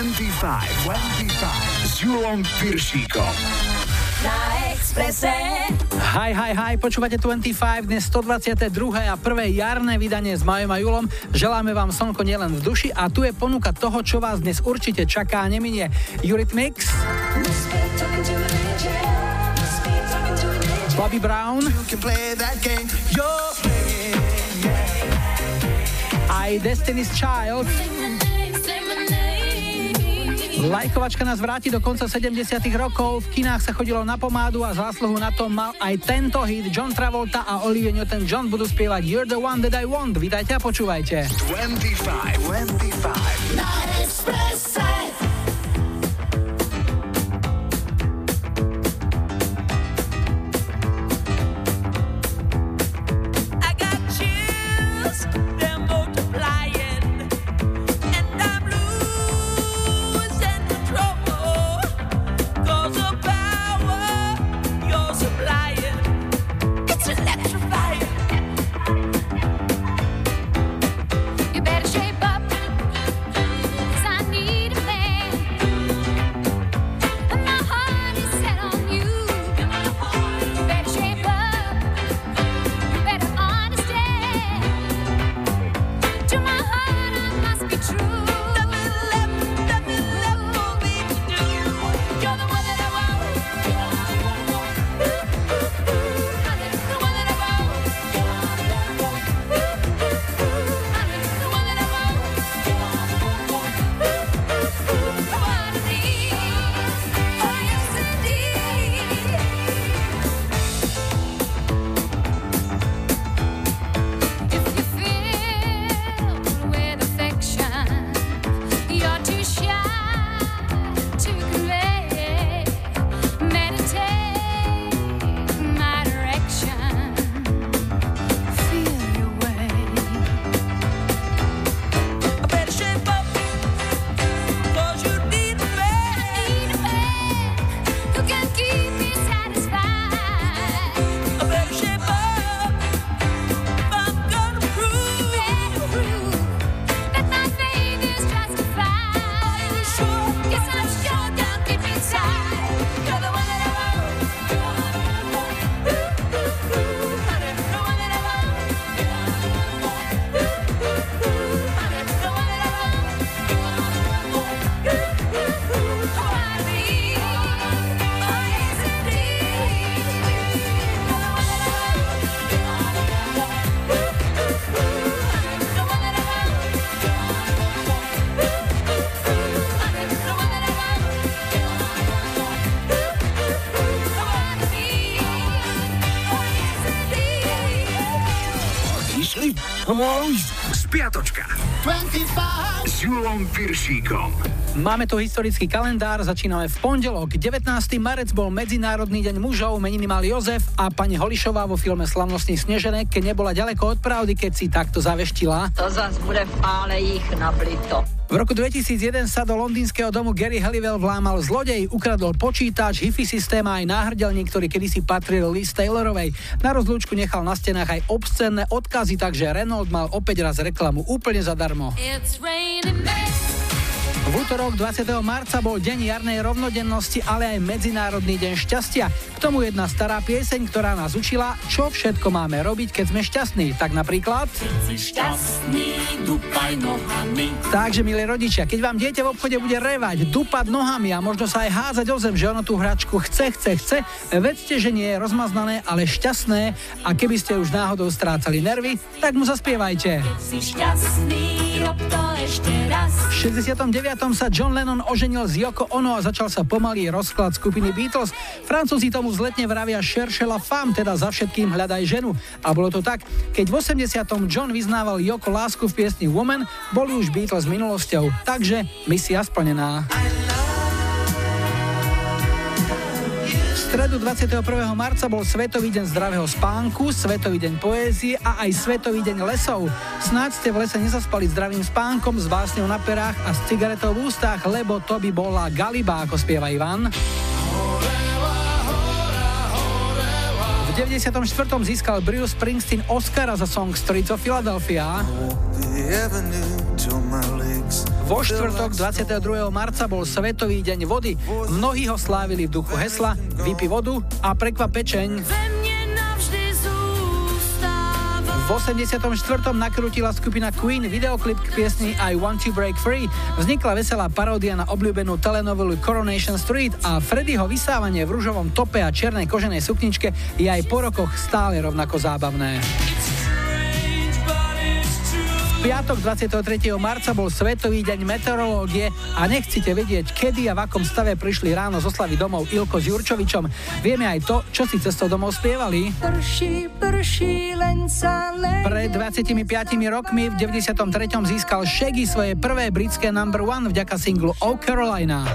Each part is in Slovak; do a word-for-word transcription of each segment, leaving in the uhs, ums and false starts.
dvadsaťpäť, dvadsaťpäť s Julom Piršíkom. Na Expresse. Hi, hi, hi, počúvate dvadsaťpäť, dnes stodvadsiate druhé a prvé jarné vydanie s Majom a Julom. Želáme vám slnko nielen v duši a tu je ponuka toho, čo vás dnes určite čaká a neminie. Eurythmics, Bobby Brown, aj Destiny's Child. Lajkovačka nás vráti do konca sedemdesiatych rokov. V kinách sa chodilo na pomádu a zásluhu na tom mal aj tento hit. John Travolta a Olivia Newton-John budú spievať You're the one that I want. Vítajte a počúvajte. dvadsaťpäť, dvadsaťpäť Na Expresse. Spiatočka dvadsaťpäť s Julom Piršíkom. Máme tu historický kalendár, začíname v pondelok. devätnásteho marca bol Medzinárodný deň mužov, meniny mal Jozef a pani Holišová vo filme Slavnostný Sneženek, keď nebola ďaleko od pravdy, keď si takto zaveštila. To zas bude v pále ich nablito. V roku dvetisícjeden sa do londýnskeho domu Gary Halliwell vlámal zlodej, ukradol počítač, hifi systém a aj náhrdelník, ktorý kedysi patril Liz Taylorovej. Na rozlúčku nechal na stenách aj obscenné odkazy, takže Renault mal opäť raz reklamu úplne zadarmo. V útorok dvadsiateho marca bol deň jarnej rovnodennosti, ale aj Medzinárodný deň šťastia. K tomu jedna stará pieseň, ktorá nás učila, čo všetko máme robiť, keď sme šťastní. Tak napríklad... Šťastný, dupaj nohami. Takže, milí rodičia, keď vám dieťa v obchode bude revať, dupať nohami a možno sa aj házať o zem, že ono tú hračku chce, chce, chce, vedzte, že nie je rozmaznané, ale šťastné a keby ste už náhodou strácali nervy, tak mu zaspievajte. Keď si šťastný, rob to ešte raz. V šesťdesiatom deviatom sa John Lennon oženil z Yoko Ono a začal sa pomalý rozklad skupiny Beatles. Francúzi tomu vzletne vravia cherche la femme, teda za všetkým hľadaj ženu. A bolo to tak, keď v osemdesiatom John vyznával Yoko lásku v piesni Woman, boli už Beatles minulosťou. Takže misia splnená. V stredu dvadsiateho prvého marca bol Svetový deň zdravého spánku, Svetový deň poézie a aj Svetový deň lesov. Snáď ste v lese nezaspali zdravým spánkom, s básňou na perách a s cigaretou v ústach, lebo to by bola galiba, ako spieva Ivan. V deväťdesiatom štvrtom získal Bruce Springsteen Oscara za song Streets of Philadelphia. Vo štvrtok dvadsiateho druhého marca bol Svetový deň vody. Mnohí ho slávili v duchu hesla Vypi vodu a prekvap pečeň. V osemdesiatom štvrtom nakrútila skupina Queen videoklip k piesni I Want to Break Free. Vznikla veselá paródia na obľúbenú telenovelu Coronation Street a Freddyho vysávanie v ružovom tope a čiernej koženej sukničke je aj po rokoch stále rovnako zábavné. V piatok dvadsiateho tretieho marca bol Svetový deň meteorológie a nechcete vedieť, kedy a v akom stave prišli ráno zo Slavy domov Ilko s Jurčovičom. Vieme aj to, čo si cestou domov spievali. Prší, prší, len sa len... Pred dvadsiatimi piatimi rokmi v deväťdesiatom treťom získal Shaggy svoje prvé britské number one vďaka singlu Oh Carolina.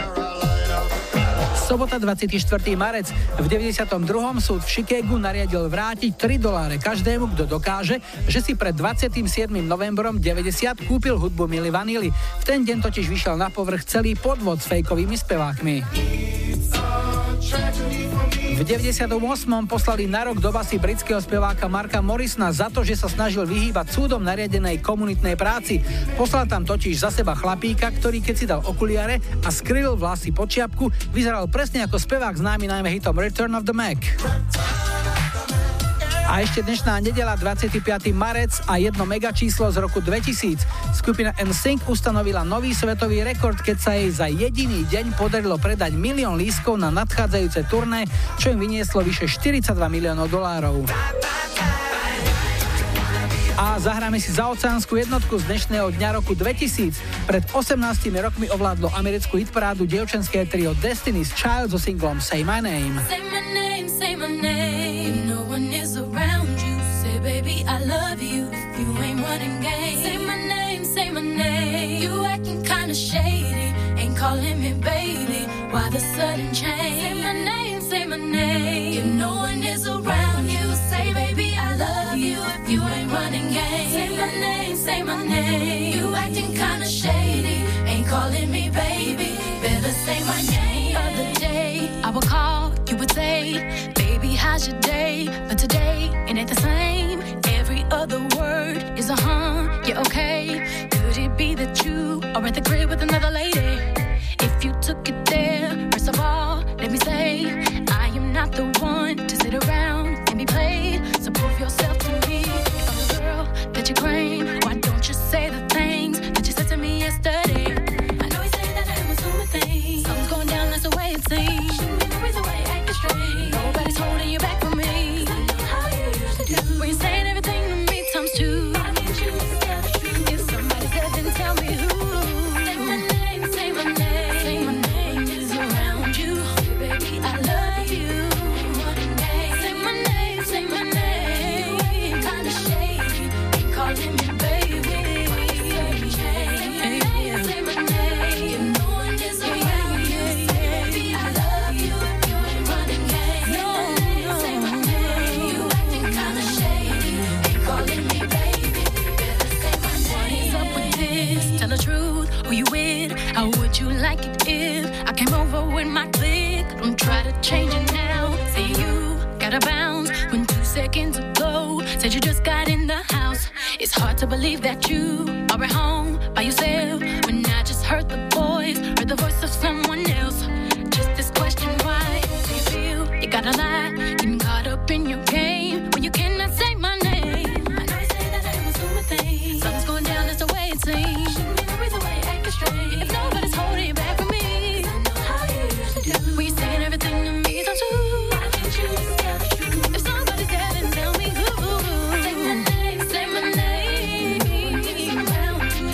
Sobota dvadsiateho štvrtého marec. V deväťdesiatom druhom súd v Chicagu nariadil vrátiť tri doláre každému, kto dokáže, že si pred dvadsiatym siedmym novembrom deväťdesiat kúpil hudbu Milli Vanilli. V ten deň totiž vyšiel na povrch celý podvod s fejkovými spevákmi. V deväťdesiatom ôsmom poslali na rok do basy britského speváka Marka Morrisona za to, že sa snažil vyhýbať súdom nariadenej komunitnej práci. Poslal tam totiž za seba chlapíka, ktorý keď si dal okuliare a skryl vlasy pod čiapku, vyzeral presne ako spevák známy najmä hitom Return of the Mac. A ešte dnešná nedeľa dvadsiateho piateho marec a jedno megačíslo z roku dvetisíc. Skupina en sync ustanovila nový svetový rekord, keď sa jej za jediný deň podarilo predať milión lístkov na nadchádzajúce turné, čo im vynieslo vyše štyridsaťdva miliónov dolárov. A zahráme si zaoceánsku jednotku z dnešného dňa roku dvetisíc. Pred osemnástimi rokmi ovládlo americkú hitparádu dievčenské trio Destiny's Child so singlom Say My Name. Say my name, say my name. No one is around you. Say baby I love you. If you ain't running game. Say my name, say my name. You acting kinda shady. Ain't calling me baby. Why the sudden change? Say my name, say my name. If no one is around you. Say baby I love you. If you ain't running game. Say my name, say my name. You acting kinda shady. Ain't calling me baby. Better say my name. Other day I would call, you would say, baby how's your day? But today it ain't the same. Every other word is a huh, yeah okay. Could it be that you are at the crib with another lady? If you took it there, first of all, let me say, I am not the one to sit around and be played. So prove yourself to me. If I'm the girl that you claim, why don't you say the things that you said to me yesterday? I know you say that I was doing things. Something's going down, that's the way it seems. Shouldn't be the reason why you're acting strange. Nobody's holding you back from me. 'Cause I know how you usually do. When you're saying everything to me times two. I need you to tell the truth. If somebody's there, then tell me who. Say my name, say my name. Say my name is around you. Baby, I love you. Say my name, say my name. You kinda shady. Ain't calling me baby. Say my name. If no one is around you. Say baby, I love you. You ain't running game. No, say my name. You acting kinda shady. Ain't calling me baby. Better say my name. What's up with this? Tell the truth. Who you with? How would you like it if I came over with my clique? Don't try to change it now. Say you gotta bounce when two seconds ago said you just got in the house. It's hard to believe that you are at home by yourself when I just heard the voice, heard the voice of someone else. Just this question, why do you feel you gotta lie? Getting caught up in your game when you cannot say my name. I know you say that I was doing things. Something's going down, that's the way it seems. Shouldn't be the reason why you're acting strange. If nobody's holding you back from me, 'cause I know how you usually do. When you're saying everything to me, don't you? Why can't you just tell the truth? If somebody's there, then tell me who. Say my name, say my name. Around you.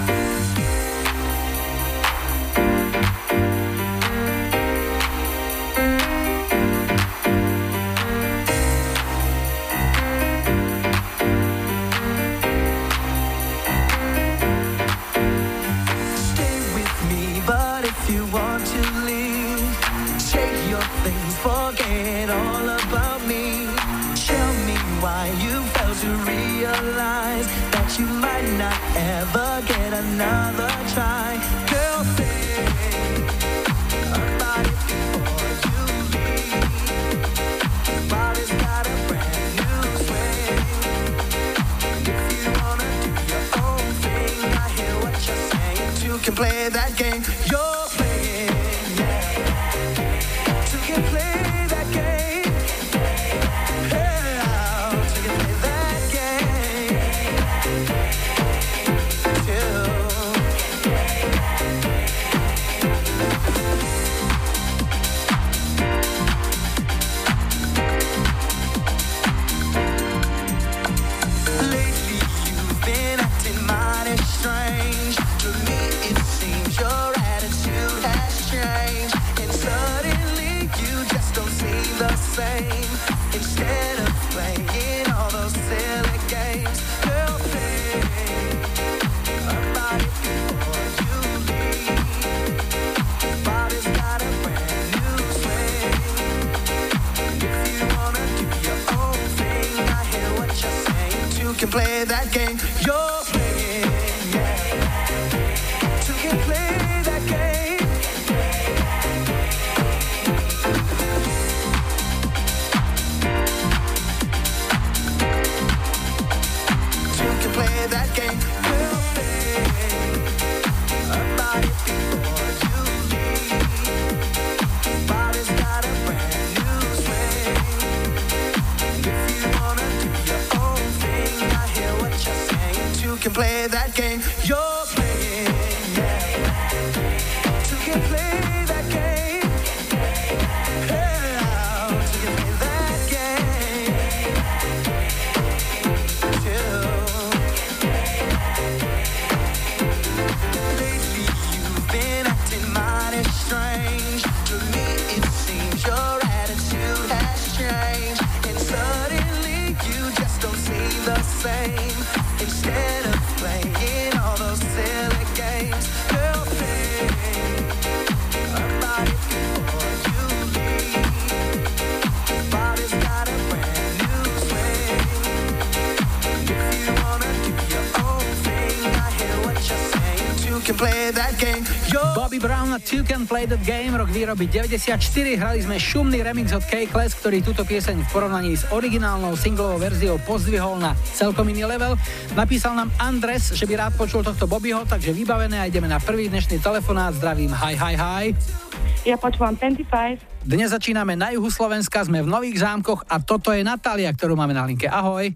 Bobby Brown a Two Can Play That Game, rok výroby deväťdesiatštyri. Hrali sme šumný remix od K-Class, ktorý túto pieseň v porovnaní s originálnou singlovou verziou pozdvihol na celkom iný level. Napísal nám Andres, že by rád počul tohto Bobbyho, takže vybavené a ideme na prvý dnešný telefonát. Zdravím, hi, hi, hi. Ja počúvam dvadsaťpäť. Dnes začíname na juhu Slovenska, sme v Nových Zámkoch a toto je Natália, ktorú máme na linke. Ahoj.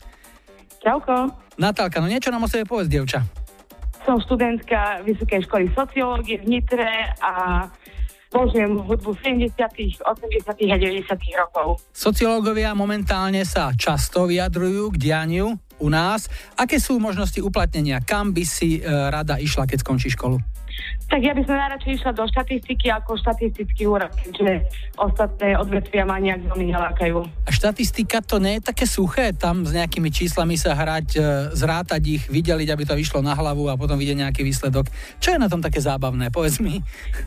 Čauko. Natálka, no niečo nám o sebe povedz, dievča. Som študentka Vysokej školy sociológie v Nitre a požujem hudbu sedemdesiatych, osemdesiatych a deväťdesiatych rokov. Sociológovia momentálne sa často vyjadrujú k dianiu u nás. Aké sú možnosti uplatnenia? Kam by si e, rada išla, keď skončí školu? Tak ja by som najradšej išla do štatistiky ako štatistický úrad, keďže ostatné odvetvia ma nejak veľmi nelákajú. A štatistika to nie je také suché? Tam s nejakými číslami sa hrať, e, zrátať ich, vydeliť, aby to vyšlo na hlavu a potom vidieť nejaký výsledok. Čo je na tom také zábavné? Povedz mi.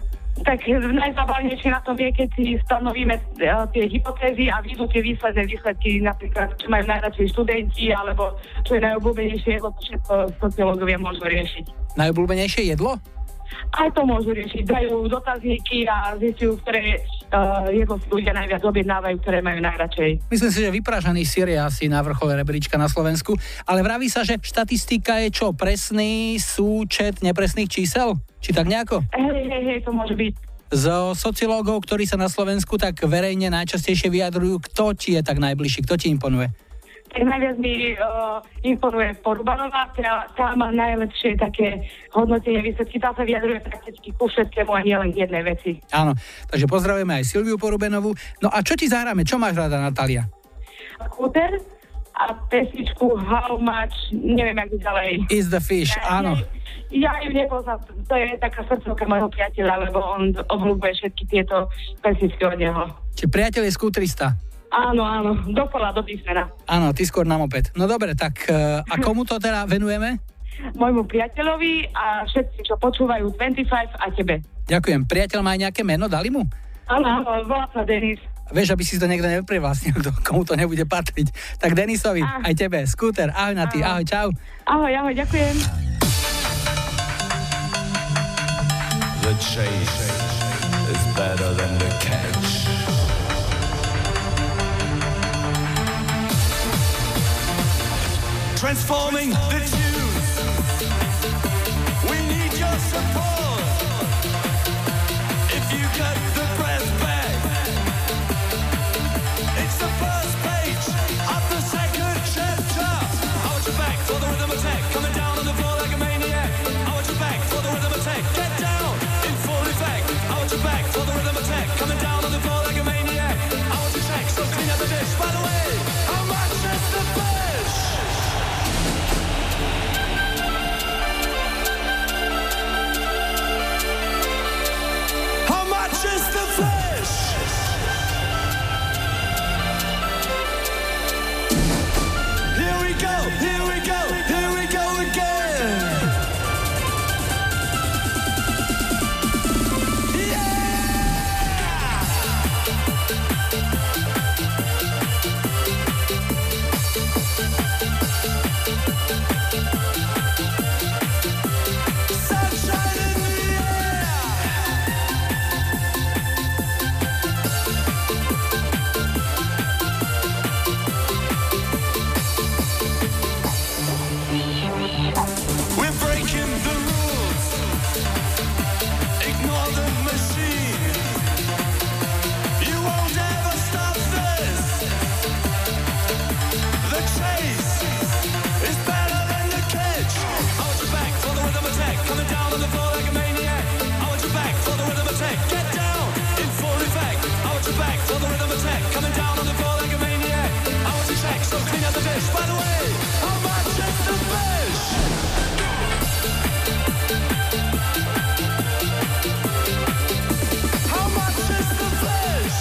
Tak najzábavnejšie na tom je, keď si stanovíme uh, tie hypotézy a vidú tie výsledné výsledky, napríklad, čo majú najradšej študenti, alebo čo je najobľúbenejšie jedlo, to všetko sociológovia môžu riešiť. Najobľúbenejšie jedlo? Aj to môžu riešiť. Dajú dotazníky a zistujú, ktoré uh, jedlo si ľudia najviac objednávajú, ktoré majú najradšej. Myslím si, že vypražaný syr je asi na vrchole rebríčka na Slovensku, ale vraví sa, že štatistika je čo? Presný súčet nepresných čísel? Či tak nejako? Hej, hej, hej, to môže byť. Z sociológov, ktorí sa na Slovensku tak verejne najčastejšie vyjadrujú, kto ti je tak najbližší, kto ti imponuje? Tak najviac mi uh, imponuje Porubanová, ktorá tá má najlepšie také hodnotenie výsledky. Tá sa vyjadruje prakticky ku všetkému a nie len k jednej veci. Áno, takže pozdravujeme aj Silviu Porubenovú. No a čo ti zahráme? Čo máš rada, Natália? Kúter a pesničku How Much, neviem, jak ďalej. Is the Fish, ja, áno. Ja, ja ju nepoznám, to je taká srdcovka môjho priateľa, lebo on obľúbuje všetky tieto pesničky od neho. Či priateľ je skútrista? Áno, áno, dokola, do písmena. Áno, ty skôr nám opäť. No dobre, tak a komu to teda venujeme? Môjmu priateľovi a všetci, čo počúvajú dvadsaťpäť a tebe. Ďakujem. Priateľ má aj nejaké meno, dali mu? Áno, áno, volá sa Denis. Vieš, aby si to niekto neprivlastnil, komu to nebude patriť. Tak Denisovi, ah. aj tebe, Skúter, ahoj na ty, ahoj, čau. Ahoj, ahoj, ďakujem. The chase is better than the catch. Transforming the tunes. We need your support. If you cut the breath back, it's the first page of the second chapter. I want you back for the rhythm attack, coming down on the floor like a maniac. I want you back for the rhythm attack, get down in full effect. I want you back for the rhythm attack, coming down on the floor like a maniac. I want you check, so clean up the dish. By the way, how much is the fish? How much is the fish? Here we go, here we go, here we go again. Coming down on the floor like a maniac. I want you back for the rhythm attack. Get down in full effect. I want you back for the rhythm attack. Coming down on the floor like a maniac. I want you check, so clean up the dish. By the way, how much is the fish? How much is the fish?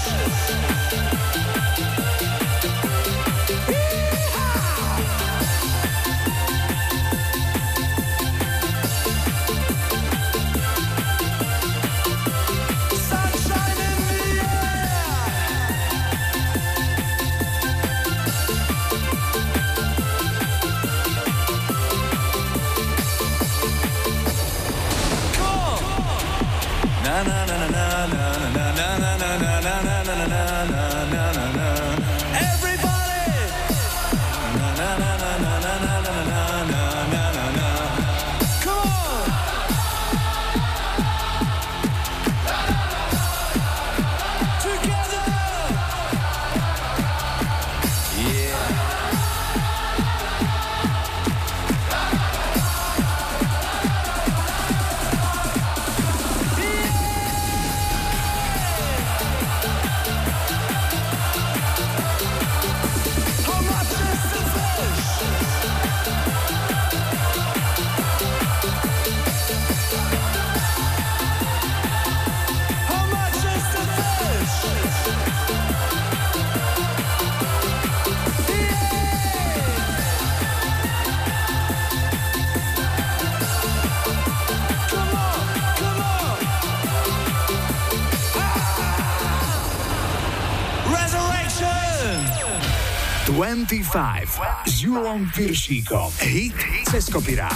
dvadsaťpäť s Julom Piršíkom. Hit cez kopirát.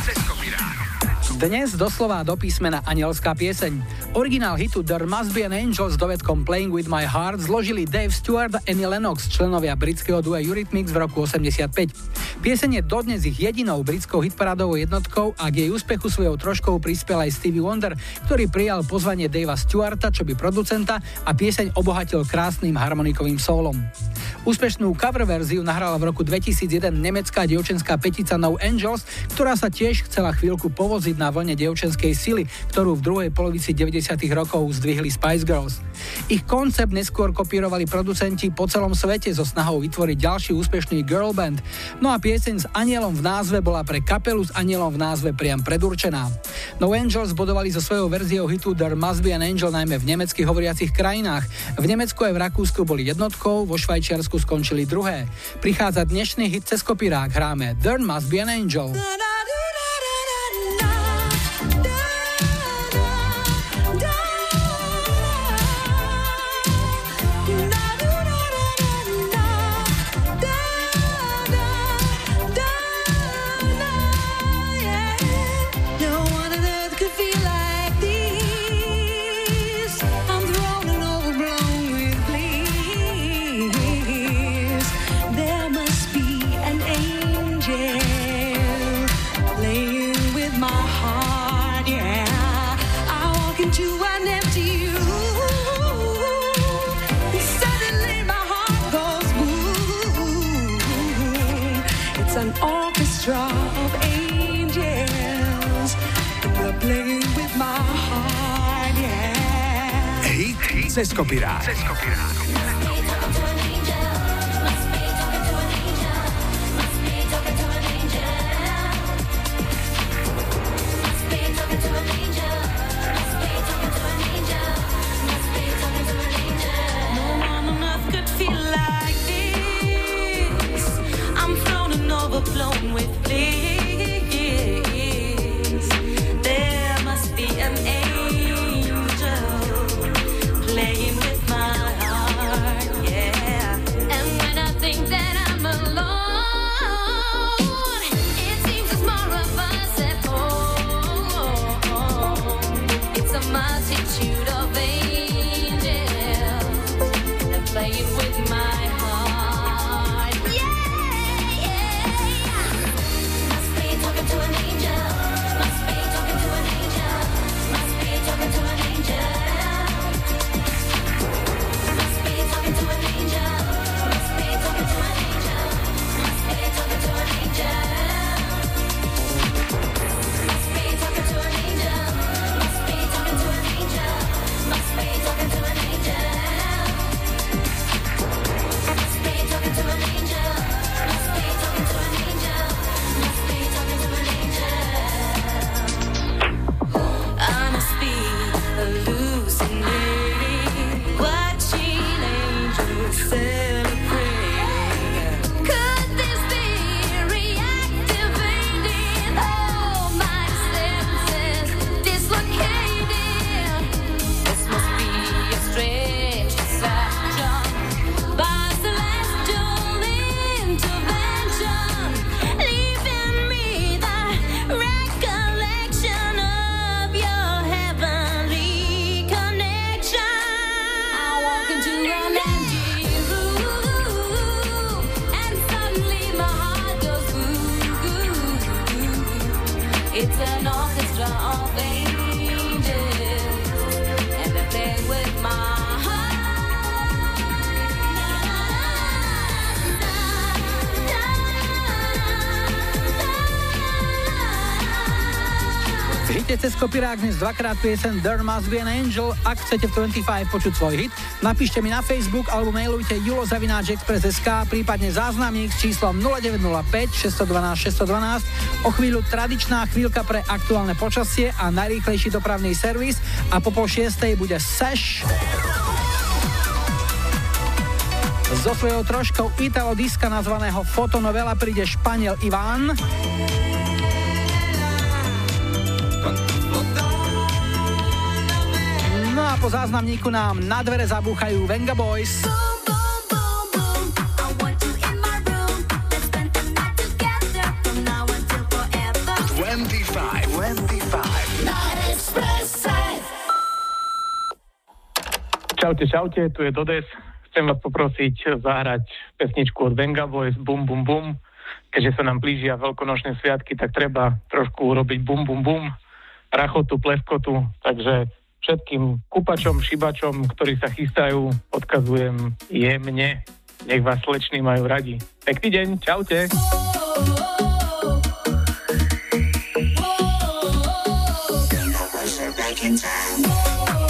Dnes doslova do písmena anielská pieseň. Originál hitu There Must Be an Angel s dovedkom Playing With My Heart zložili Dave Stewart a Annie Lennox, členovia britského dua Eurythmics v roku osemdesiatpäť. Pieseň je dodnes ich jedinou britskou hitparádovou jednotkou a k jej úspechu svojou troškou prispel aj Stevie Wonder, ktorý prijal pozvanie Davea Stewarta, čo by producenta, a pieseň obohatil krásnym harmonikovým sólom. Úspešnú cover verziu nahrala v roku dvetisícjeden nemecká dievčenská petica No Angels, ktorá sa tiež chcela chvíľku povoziť na vlne dievčenskej sily, ktorú v druhej polovici deväťdesiatych deväťdesiatych rokov zdvihli Spice Girls. Ich koncept neskôr kopírovali producenti po celom svete so snahou vytvoriť ďalší úspešný girl band. No a pieseň s anielom v názve bola pre kapelu s anielom v názve priam predurčená. No Angels bodovali so svojou verziou hitu There Must Be an Angel najmä v nemecky hovoriacich krajinách. V Nemecku aj v Rakúsku boli jednotkou, vo Švajčiarsku skončili druhé. Prichádza dnešný hit cez kopírák, hráme There Must Be an Angel. Of angels, they're playing with my heart, yeah. Hit, hit cez kopírák. Cez kopírák. Overblown with bliss. There must be an angel playing with my heart, yeah. And when I think that I'm alone, it seems there's more of us at home. It's a multitude of angels that playing with my heart. It's an orchestra of angels, and they play with my V hite cez kopírák dnes dvakrát piesen There Must Be an Angel. Ak chcete v dvadsaťpäť počuť svoj hit, napíšte mi na Facebook alebo mailujte julo zavináč express bodka es ká, prípadne záznamník s číslom nula deväť nula päť šesť jedna dva šesť jedna dva. O chvíľu tradičná chvíľka pre aktuálne počasie a najrýchlejší dopravný servis a po pol šiestej bude Sash. So svojou troškou Italo diska nazvaného Fotonovela príde Španiel Iván. No a po záznamníku nám na dvere zabúchajú Venga Boys. dvadsaťpäť, dvadsaťpäť Na Expresse. Čaute, čaute, tu je Dodes. Chcem vás poprosiť zahrať pesničku od Venga Boys Bum Bum Bum. Keďže sa nám blížia veľkonočné sviatky, tak treba trošku urobiť bum bum bum, rachotu, pleskotu. Takže všetkým kupačom, šibačom, ktorí sa chystajú, odkazujem jemne. Nech vás sleční majú radi. Pekný deň, čaute. Back in time.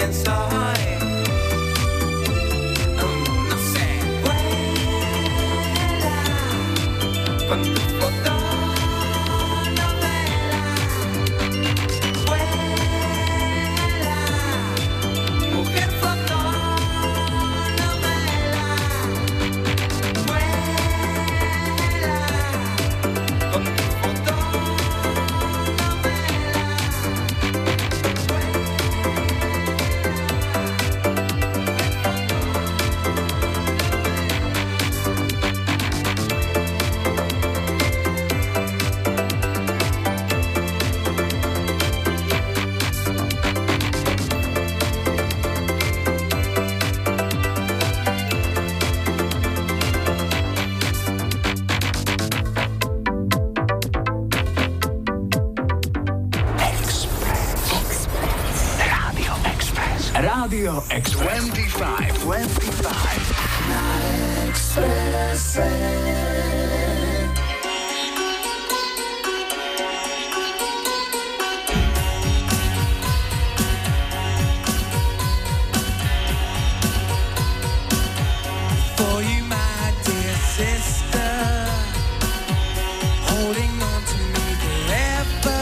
inside. Um, no sé. Vuela con tu foto. Radio Express. dvadsaťpäť, dvadsaťpäť. Na Expresse. For you, my dear sister, holding on to me forever.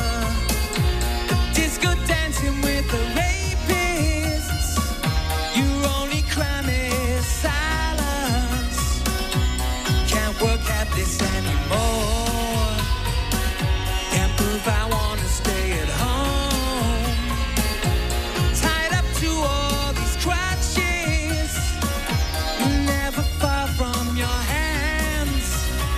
Disco dancing with the rapists. Your only crime is silence. Can't work at this anymore. Can't prove I wanna stay at home. Tied up to all these crutches. Never far from your hands.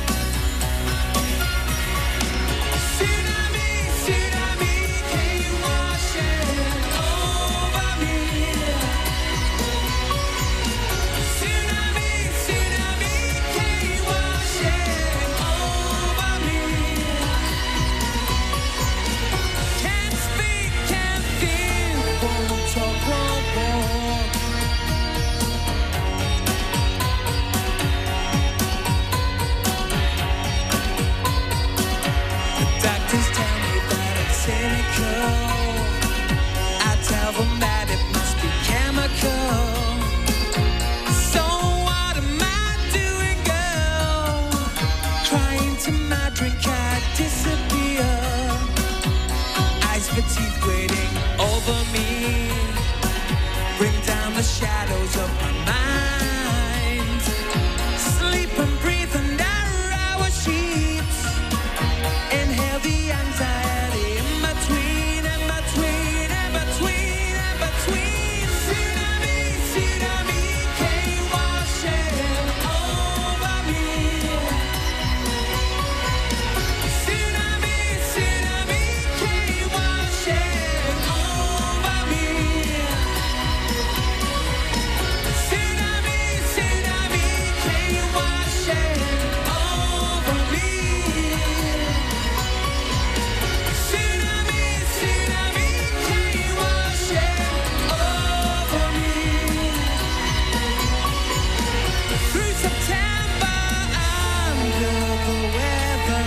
Tsunami, tsunami, came washing over me. Tsunami, tsunami, came washing over me. Can't speak, can't feel, won't talk, won't walk. Doctors tell me that I'm cynical. I tell them that it must be chemical. So what am I doing, girl? Crying to my drink, I disappear. Eyes for teeth waiting over me. Bring down the shadows of my mind. Sleep and breathe under our sheets. Inhale the anxiety in between, in between, in between, in between. Tsunami, tsunami, came washing over me. Tsunami, tsunami, came washing over me. Tsunami, tsunami, came washing over me. Tsunami, tsunami, came washing over me. Through September under the weather.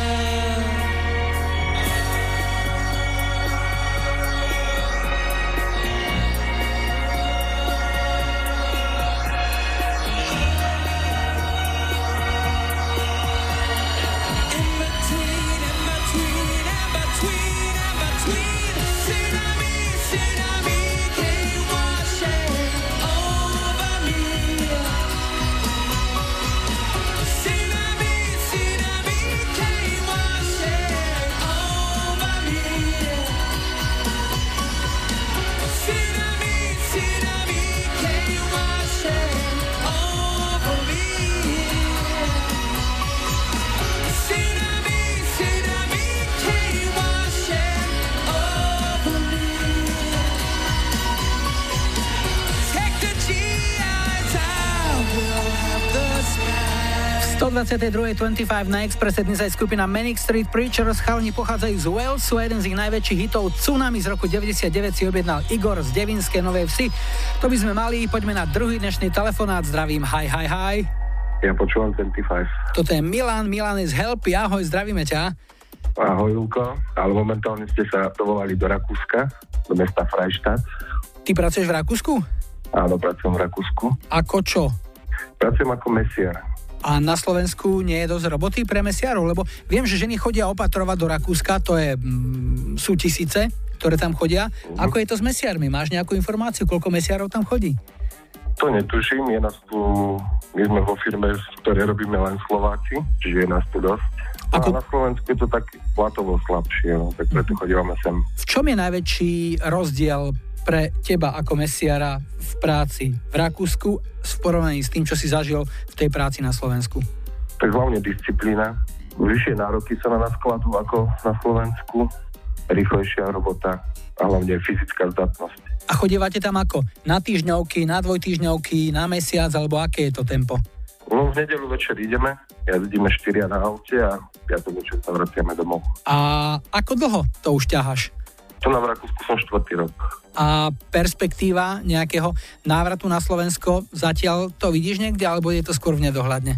In between, in between, in between, in between. Tsunami, tsunami, came washing over me. Tsunami, tsunami, came washing over me. Tsunami, tsunami, came washing over me. Tsunami, tsunami, came washing over me. Take the G Is, I will have the smash. stodvadsaťdva dvadsaťpäť na Expresse dnes aj skupina Manic Street Preachers. Chalani pochádzajú z Walesu a jeden z ich najväčších hitov Tsunami z roku deväťdesiatdeväť si objednal Igor z Devinskej Novej Vsi. To by sme mali, poďme na druhý dnešný telefonát. Zdravím, hi, hi, hi. Ja počúvam dvadsaťpäť. Toto je Milan, Milan is Help, ahoj, zdravíme ťa. Ahoj, Julko, ale momentálne ste sa dovolali do Rakúska, do mesta Freistadt. Ty pracuješ v Rakúsku? Áno, pracujem v Rakúsku. Ako čo? Pracujem ako mesiar. A na Slovensku nie je dosť roboty pre mesiarov? Lebo viem, že ženy chodia opatrovať do Rakúska, to je, mm, sú tisíce, ktoré tam chodia. Uh-huh. Ako je to s mesiarmi? Máš nejakú informáciu, koľko mesiarov tam chodí? To netuším, je nás tu, my sme vo firme, v ktorej robíme len Slováci, čiže je nás tu dosť. Ako... A na Slovensku je to tak platovo slabšie, no, tak preto chodívame sem. V čom je najväčší rozdiel pre teba ako mesiara v práci v Rakúsku v porovnaní s tým, čo si zažil v tej práci na Slovensku? Tak hlavne disciplína. Vyššie nároky sa na nás kladú ako na Slovensku. Rýchlejšia robota a hlavne fyzická zdatnosť. A chodívate tam ako? Na týždňovky, na dvojtýždňovky, na mesiac, alebo aké je to tempo? No, v nedeľu večer ideme, jazdíme štyria na aute a piatok večer sa vraciame domov. A ako dlho to už ťaháš? To na v Rakúsku som štvrtý rok. A perspektíva nejakého návratu na Slovensko, zatiaľ to vidíš niekde, alebo je to skôr v nedohľadne?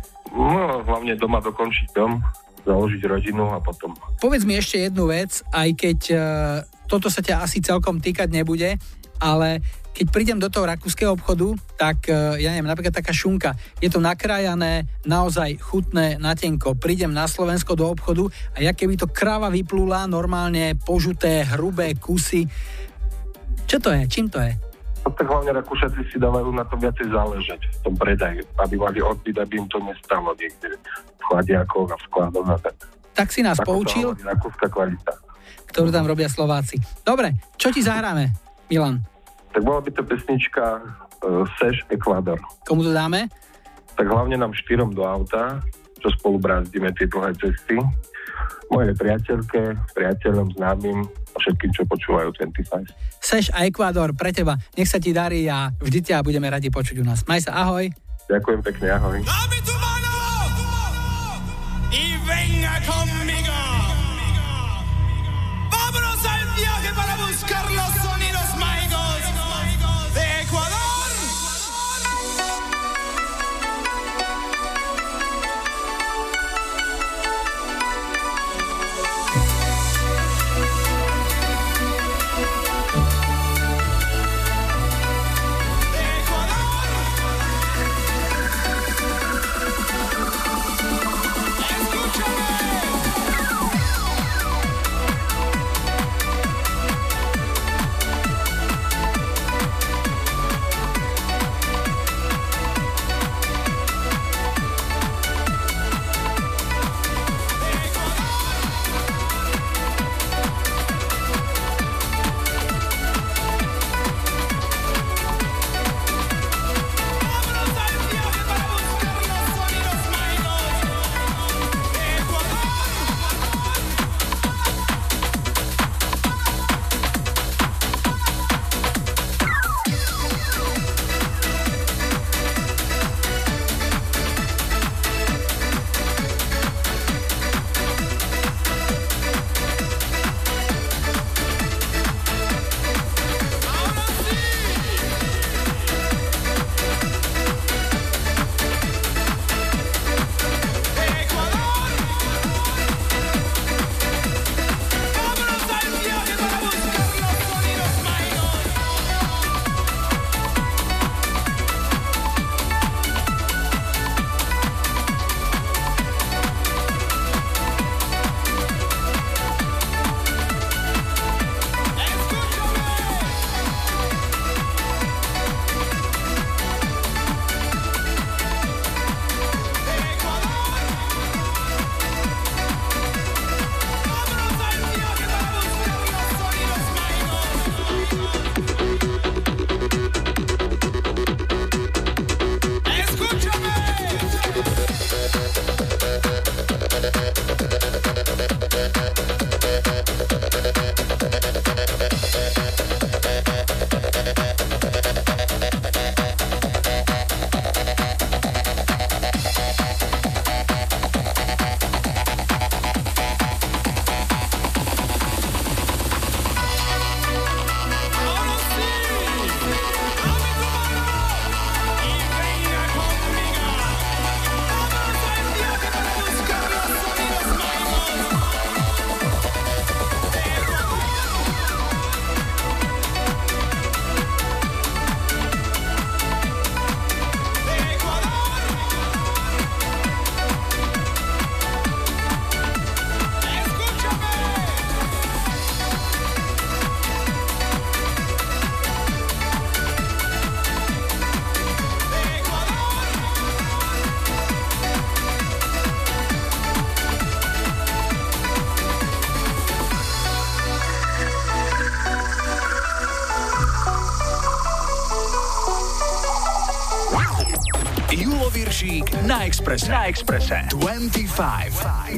No, hlavne doma dokončiť dom, založiť rodinu a potom. Povedz mi ešte jednu vec, aj keď e, toto sa ťa asi celkom týkať nebude, ale keď prídem do toho rakúskeho obchodu, tak e, ja neviem, napríklad taká šunka, je to nakrájané, naozaj chutné, natenko. Prídem na Slovensko do obchodu a ja keby to kráva vyplula, normálne požuté, hrubé kusy. Čo to je? Čím to je? No, tak hlavne Rakúšaci si dávajú na to viacej záležať v tom predaji, aby mali odbyt, aby im to nestalo niekde v chladiakoch a v skladoch a tak. Tak si nás tak poučil, rakúska kvalita, ktorú tam robia Slováci. Dobre, čo ti zahráme, Milan? Tak bola by to pesnička uh, Seš Ekvádor. Komu to dáme? Tak hlavne nám štyrom do auta, čo spolu bránime tie dlhé cesty. Mojej priateľke, priateľom, známym a všetkým, čo počúvajú dvadsaťpäť. Seš a Ekvádor pre teba. Nech sa ti darí a vždy ťa budeme radi počuť u nás. Maj sa, ahoj. Ďakujem pekne, ahoj. Y venga conmigo. Vámonos al viaje para buscar los sonidos mágicos de Ecuador. Escúchame. Julo Viršík na Expresse. Na Expresse. dvadsaťpäť.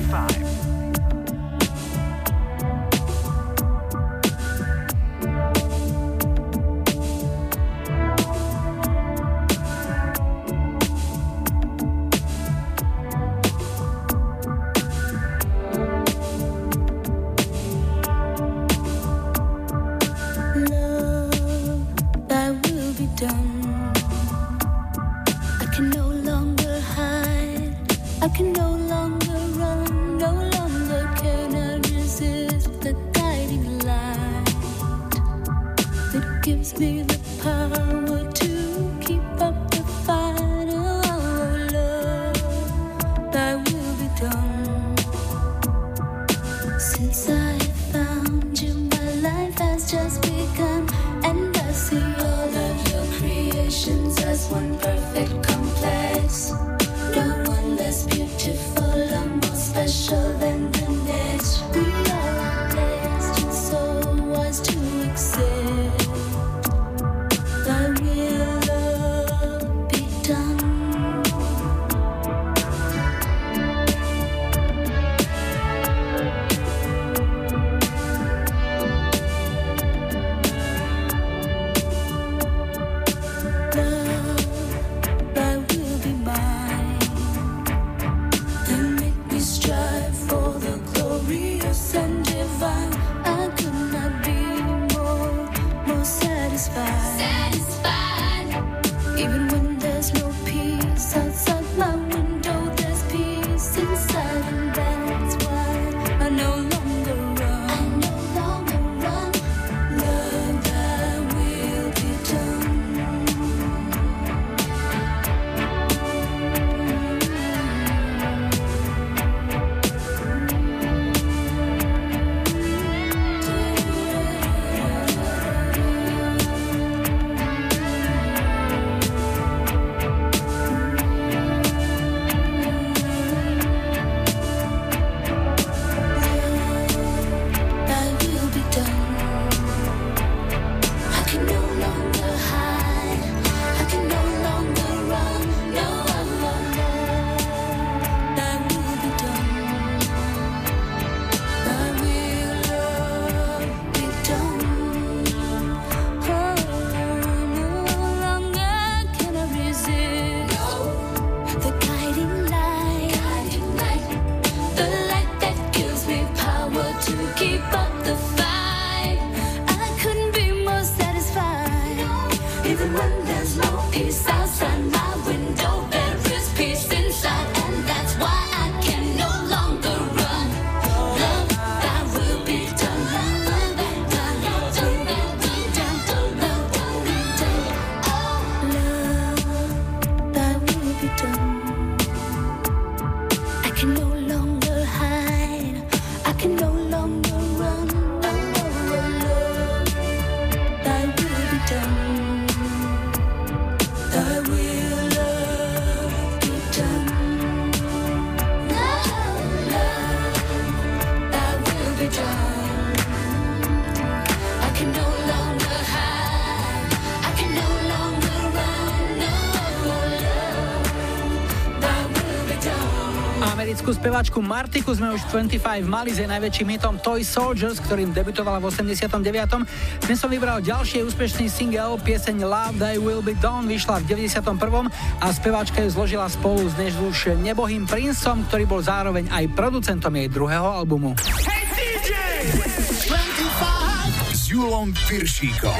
Speváčku Martiku sme už dvadsaťpäť mali s jej najväčším hitom Toy Soldiers, ktorým debutovala v osemdesiatom deviatom Dnes som vybral ďalší úspešný single, pieseň Love Thy Will Be Done, vyšla v deväťdesiatom prvom a speváčka ju zložila spolu s dnes už nebohým Princeom, ktorý bol zároveň aj producentom jej druhého albumu. Hey dý džej! dvadsaťpäť s Julom Piršíkom.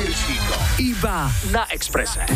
Iba na Expresse.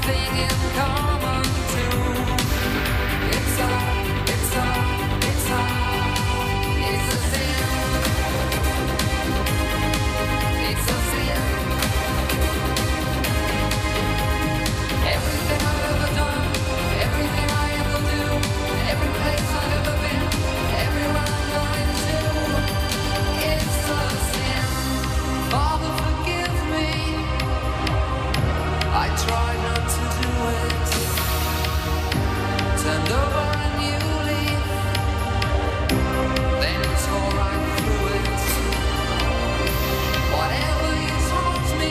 thing in common too. It's a, it's a, it's a, it's a sin. It's a sin. Everything I've ever done, everything I ever do, every place I've ever been, everywhere I'm going to, it's a sin. Father, forgive me. I tried not to do it. Turned over a new leaf, then tore right through it. Whatever you told me,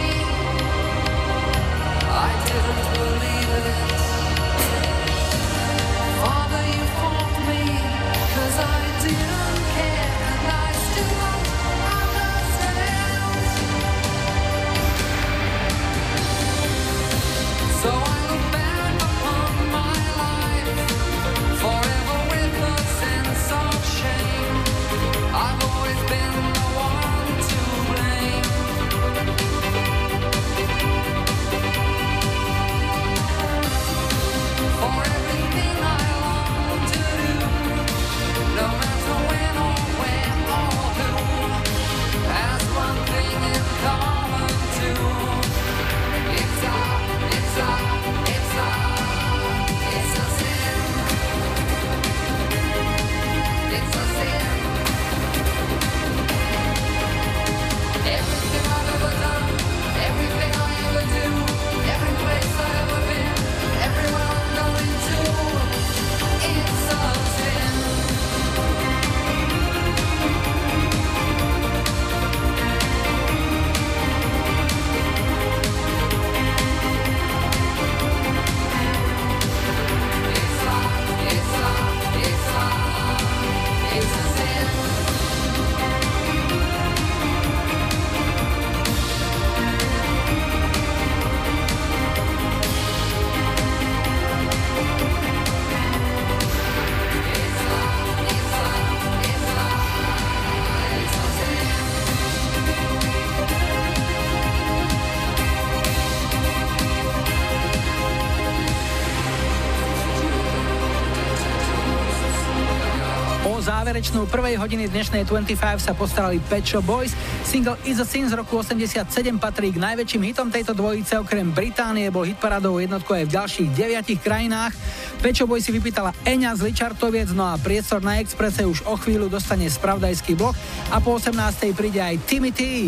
I didn't believe it. Father, you fought me, 'cause I didn't care, and I still don't understand. So I look back upon my life, forever with a sense of shame. I've always been the one to blame. For everything I long to do, no matter when or where or who, has one thing in common too. It's a, it's a, it's a, it's a sin. It's a sin. Everything I've ever done, everything I ever do, every place I've ever been, everywhere I'm going to, it's a sin. It's a, it's a, it's a, it's a sin. O záverečnú prvej hodiny dnešnej dvadsaťpäť sa postarali Pet Shop Boys. Single Is a Sin z roku osemdesiatsedem patrí k najväčším hitom tejto dvojice. Okrem Británie bol hitparádovou jednotkou aj v ďalších deviatich krajinách. Pet Shop Boys si vypýtala Eňa z Ličartoviec, no a priestor na Expresse už o chvíľu dostane spravodajský blok a po osemnástej príde aj Timmy T.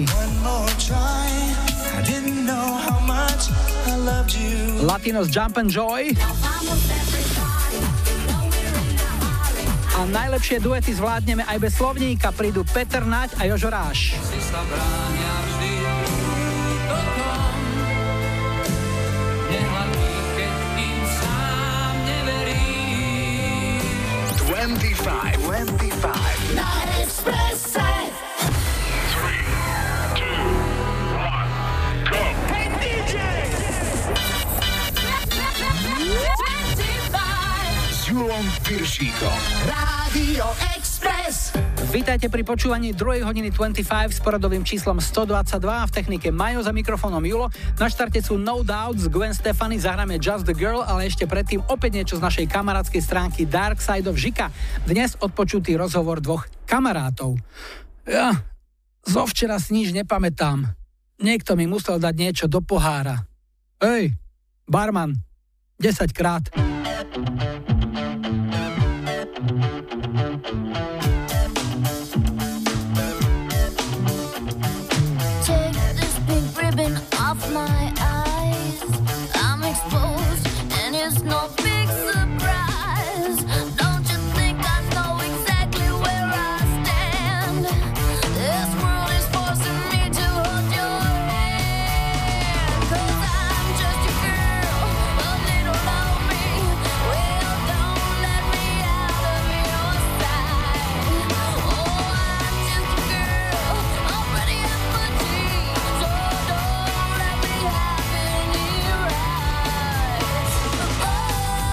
Latinos Jump and Joy. A najlepšie duety zvládneme aj bez slovníka. Prídu Peter Nať a Jožo Ráš. dvadsaťpäť, dvadsaťpäť Na Expresse. tri, dva, jeden, go! Hey dý džej! S Julom Piršíkom. Rádio Express. Vítajte pri počúvaní druhej hodiny dvadsaťpäť s poradovým číslom stodvadsaťdva. V technike Majo, za mikrofónom Julo. Na štarte sú No Doubts, Gwen Stefani, zahráme Just the Girl, ale ešte predtým opäť niečo z našej kamarádskej stránky Dark Side of Žika. Dnes odpočutý rozhovor dvoch kamarátov. Ja zo včera si nič nepamätám. Niekto mi musel dať niečo do pohára. Ej, barman, desaťkrát. Off my eyes, I'm exposed, and it's no big surprise. Don't you think I know exactly where I stand? This world is forcing me to hold your hand. 'Cause I'm just a girl, a little lonely. Well, don't let me out of your sight. Oh, I'm just a girl, already at my dreams. So don't let me have any rights. Oh,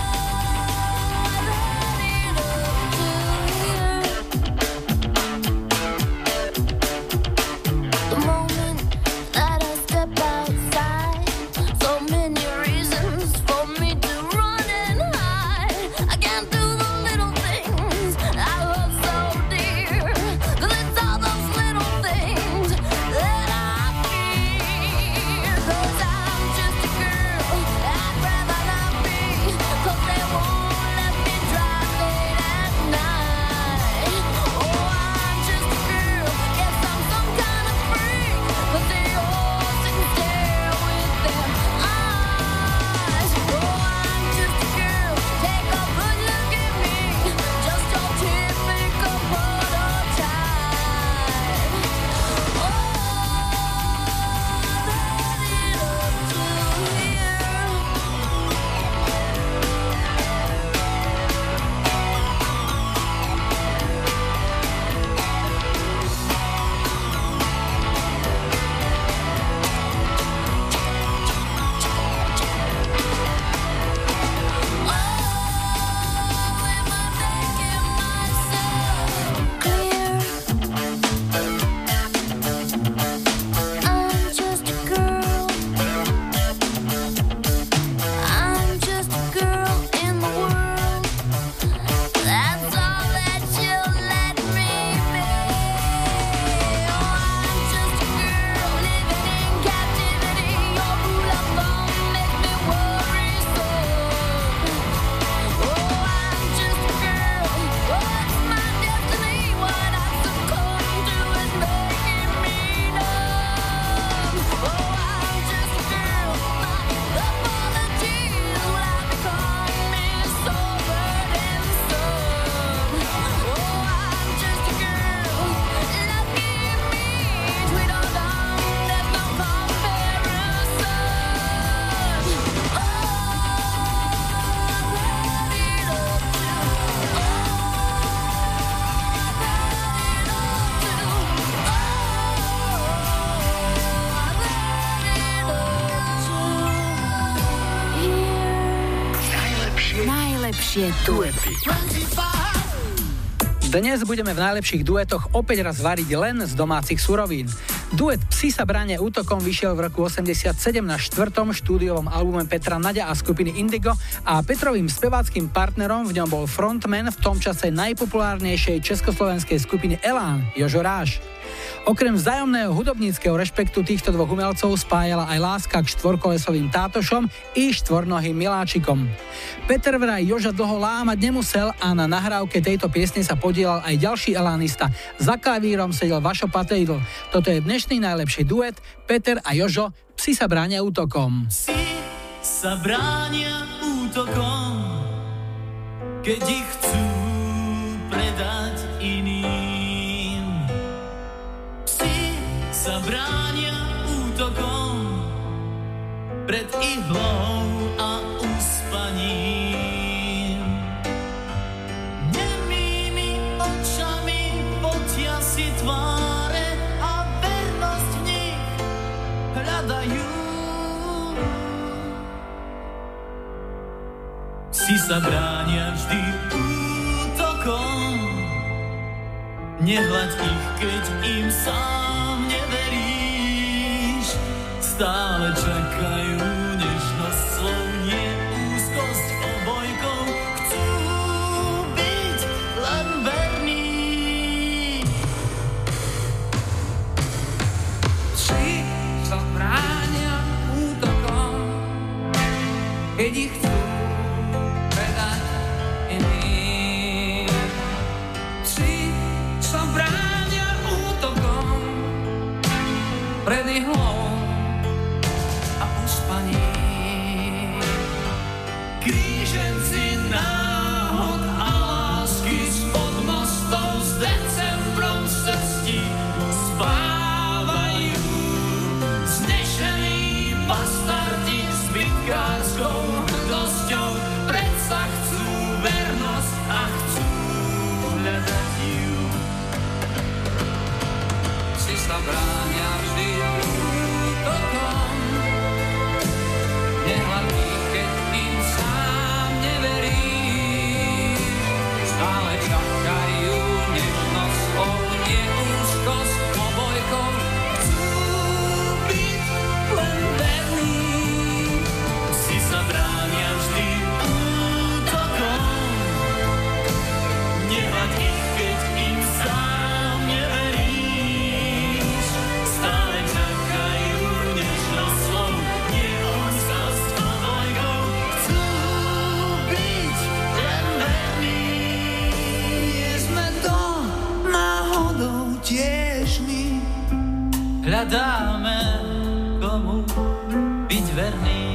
najlepšie duety. Dnes budeme v najlepších duetoch opäť raz variť len z domácich surovín. Duet Psi sa bránia útokom vyšiel v roku osemdesiatsedem na štvrtom štúdiovom albume Petra Naďa a skupiny Indigo a Petrovým speváckým partnerom v ňom bol frontman v tom čase najpopulárnejšej československej skupiny Elán, Jožo Ráš. Okrem vzájomného hudobníckeho rešpektu týchto dvoch umelcov spájala aj láska k štvorkolesovým tátošom i štvornohým miláčikom. Peter vraj Joža dlho lámať nemusel a na nahrávke tejto piesne sa podielal aj ďalší elánista. Za klavírom sedel Vašo Patejdl. Toto je dnešný najlepší duet Peter a Jožo, Psi sa bránia útokom. Psi sa bránia útokom, keď ich chcú predať iným. Psi sa bránia útokom pred ihlou a uspaním. Nemými očami potia si tváre a vernosť v nich hľadajú. Psi sa bránia vždy útokom, nehľaď ich, keď im sám neveríš. Stále čakajú nežnosť slov, nie úzkosť obojkou. Chcú byť len verní. Psi sa bránia útokom, keď ich chcú predať iným. Psi sa bránia útokom pred ihlou a uspaním. Kríženci náhod a lásky spod mostov s decembrom z cestí spávajú. Znešení bastardi s bytkárskou hrdosťou predsa chcú vernosť a chcú hľadať ju. Psi sa bránia vždy útokom, nehľad ich, keď im sám neveríš. Stále čakajú nežnosť slov, nie úzkosť obojkou. Chcú byť len verní. Psi sa bránia vždy útokom, nehľad ich, keď im sám neveríš. Stále čakajú nežnosť slov, nie úzkosť obojkou. Chcú byť len verní. Nie sme to náhodou tiež my. Hľadáme, komu byť verný.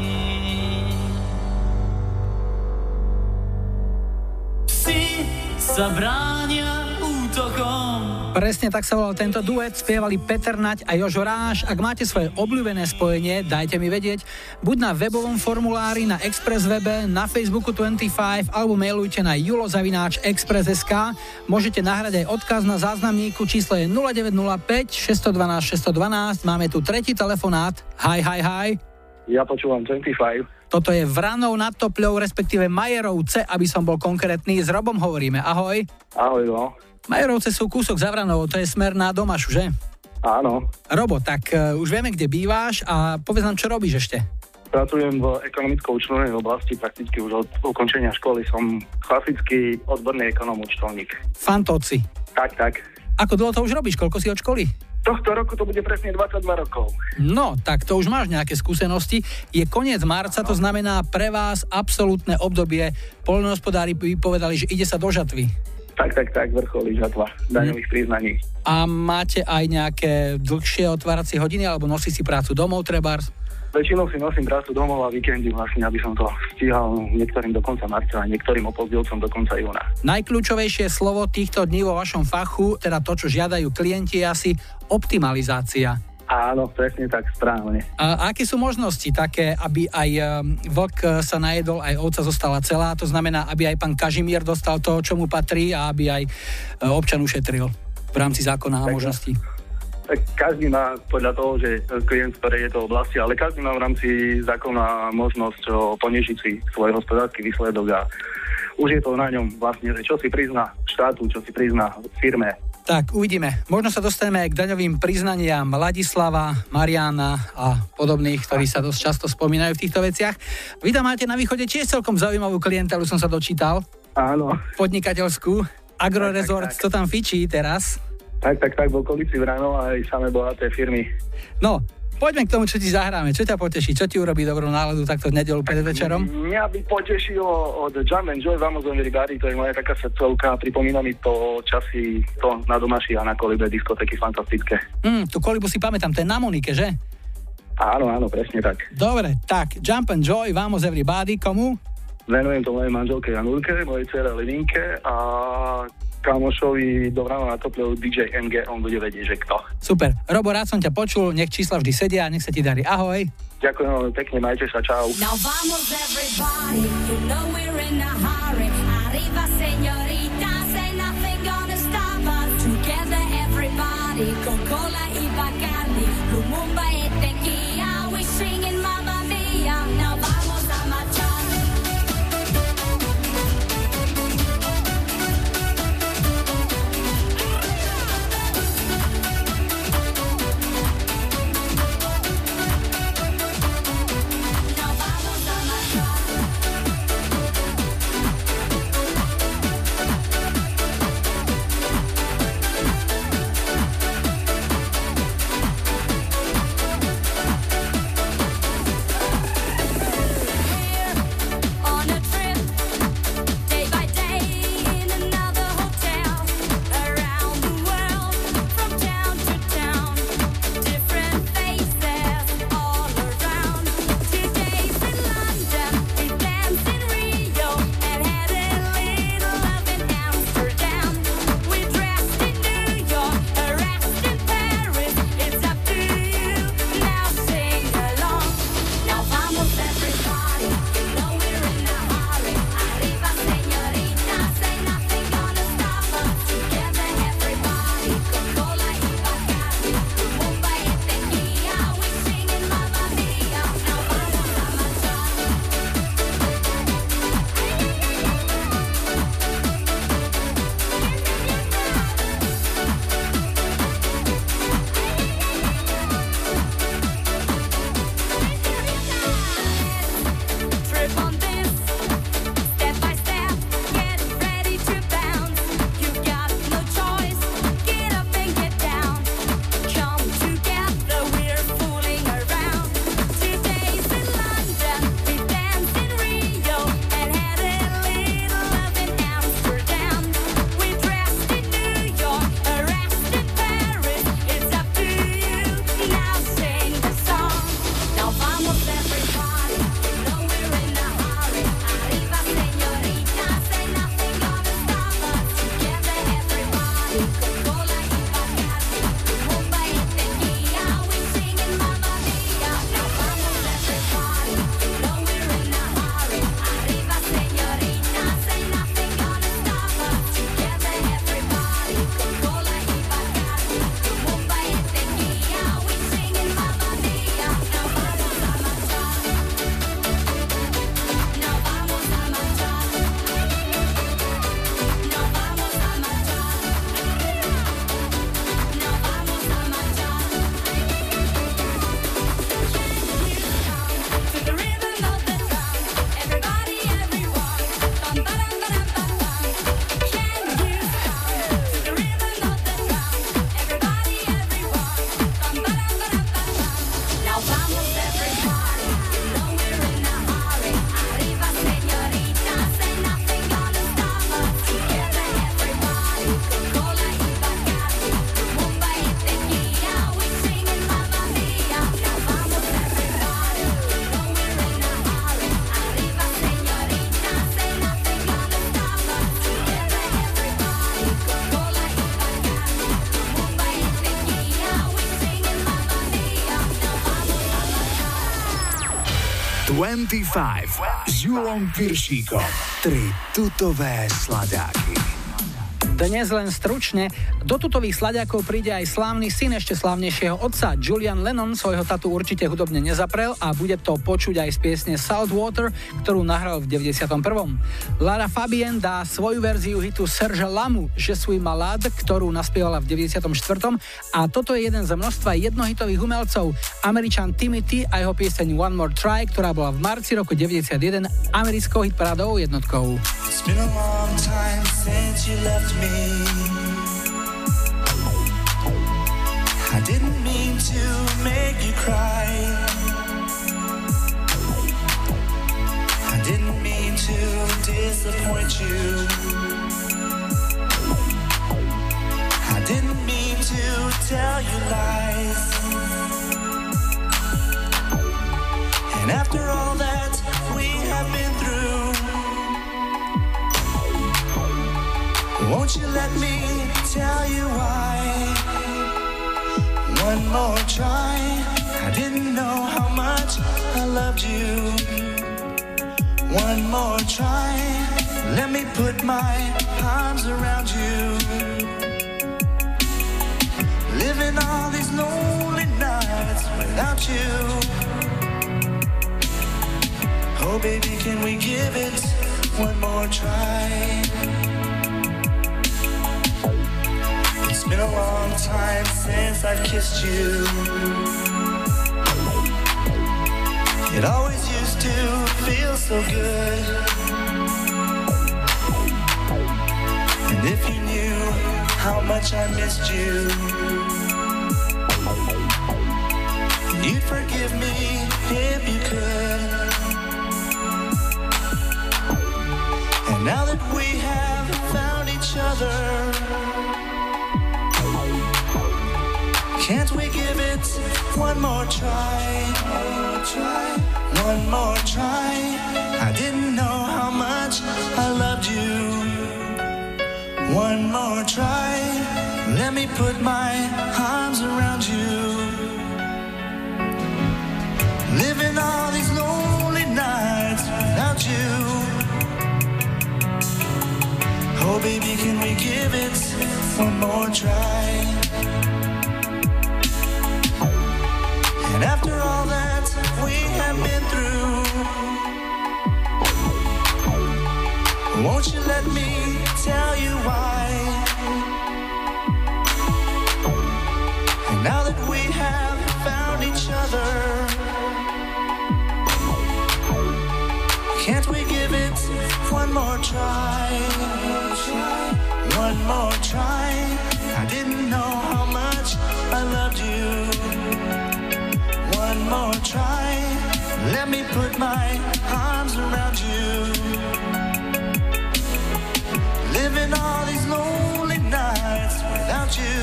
Psi sa bránia útokom. Presne tak sa volal tento duet, spievali Peter Naď a Jožo Ráš. Ak máte svoje obľúbené spojenie, dajte mi vedieť. Buď na webovom formulári na Express webe, na Facebooku dvadsaťpäť alebo mailujte na julo zavináč express bodka es ká. Môžete nahrať aj odkaz na záznamníku, číslo je nula deväť nula päť šesť jedna dva šesť jedna dva. Máme tu tretí telefonát. Hi, hi, hi. Ja počúvam dvadsaťpäť. Toto je Vranov nad Topľou, respektíve Majerovce, aby som bol konkrétny. S Robom hovoríme. Ahoj. Ahoj, no. Majerovce sú kúsok za Vranovou, to je smer na Domašu, že? Áno. Robo, tak uh, už vieme, kde býváš a povedz nám, čo robíš ešte. Pracujem v ekonomicko-účtovnej oblasti, prakticky už od ukončenia školy. Som klasický odborný ekonom-účtovník. Fantóci. Tak, tak. Ako dlho to už robíš? Koľko si od školy? Tohto roku to bude presne dvadsaťdva rokov. No, tak to už máš nejaké skúsenosti. Je koniec marca, to znamená pre vás absolútne obdobie. Poľnohospodári povedali, že ide sa do žatvy. Tak, tak, tak, vrcholí žatva daňových hm. priznaní. A máte aj nejaké dlhšie otváracie hodiny, alebo nosí si prácu domov, trebárs? Väčšinou si nosím prácu domov a víkendy vlastne, aby som to stíhal niektorým do konca marca a niektorým opozdilcom do konca júna. Najkľúčovejšie slovo týchto dní vo vašom fachu, teda to, čo žiadajú klienti, je asi optimalizácia. Áno, presne tak, správne. A aké sú možnosti také, aby aj vlk sa najedol, aj ovca zostala celá? To znamená, aby aj pán Kažimír dostal to, čo mu patrí a aby aj občan ušetril v rámci zákona a možností. Každý má podľa toho, že klient, ktoré je to oblasti, ale každý má v rámci zákona možnosť poniešiť si svoj hospodársky výsledok a už je to na ňom vlastne, že čo si prizná štátu, čo si prizná firme. Tak, uvidíme. Možno sa dostaneme aj k daňovým priznaniam Ladislava, Mariana a podobných, ktorí sa dosť často spomínajú v týchto veciach. Vy tam máte na východe tiež celkom zaujímavú klientelu, som sa dočítal. Áno. Podnikateľskú. Agrorezort, to tam fičí teraz. Tak, tak, tak, v okolici Vranov aj samé bohaté firmy. No, poďme k tomu, čo ti zahráme. Čo ťa poteší? Čo ti urobí dobrú náladu takto v nedeľu pred večerom? Mňa by potešilo od Jump and Joy Vamos on Everybody, to je moja taká srdcovka, pripomína mi to časy to na Domaši a na Kolibe, diskotéky fantastické. Mm, tú Kolibu si pamätám, to je na Monike, že? Áno, áno, presne tak. Dobre, tak Jump and Joy Vamos Everybody, komu? Venujem to mojej manželke Janulke, mojej dcere Levinke a kamošovi do rána na topleu dý džej em gé, on bude vedieť, že kto. Super. Robo, rád som ťa počul, nech čísla vždy sedia, nech sa ti darí. Ahoj. Ďakujem veľmi pekne, majte sa, čau. Now vamos everybody, you know we're in a hurry. Arriba señorita, say nothing gonna stop us. Together everybody, Coca-Cola y Bacardi, Lumumba y tequila, we singing Mamma Mia. Now vamos a marchar. dvadsaťpäť s Julom Piršíkom. Tri tutové sladáky. Dnes len stručne, do tutových sladiakov príde aj slávny syn ešte slávnejšieho otca. Julian Lennon svojho tatu určite hudobne nezaprel a bude to počuť aj z piesne Saltwater, ktorú nahral v deväťdesiatom prvom. Lara Fabian dá svoju verziu hitu Serge Lamu Je suis malade, ktorú naspievala v deväťdesiatom štvrtom a toto je jeden z množstva jednohitových umelcov. Američan Timothy a jeho pieseň One More Try, ktorá bola v marci roku deväťdesiatjeden americkou hitparádovou jednotkou. It's been a long time since you left me. I didn't mean to make you cry. I didn't mean to disappoint you. I didn't mean to tell you lies. And after all that we have been through, won't you let me tell you why? One more try. I didn't know how much I loved you. One more try. Let me put my arms around you. Living all these lonely nights without you. Oh baby, can we give it one more try? It's been a long time since I kissed you. It always used to feel so good. And if you knew how much I missed you, you'd forgive me if you could. And now that we have found each other, can't we give it one more try? One more try. I didn't know how much I loved you. One more try. Let me put my arms around you. Living all these lonely nights without you. Oh baby, can we give it one more try? And after all that we have been through, won't you let me tell you why? And now that we have found each other, can't we give it one more try? One more try. I didn't know how much I loved you. One more try. Let me put my arms around you. Living all these lonely nights without you.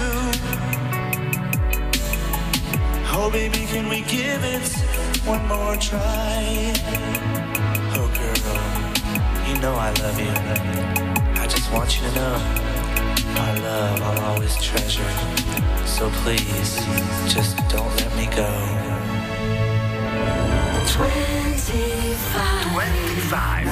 Oh baby, can we give it one more try? Oh girl, you know I love you. I just want you to know my love I'll always treasure. So please, just don't let me go. twenty-five. twenty-five.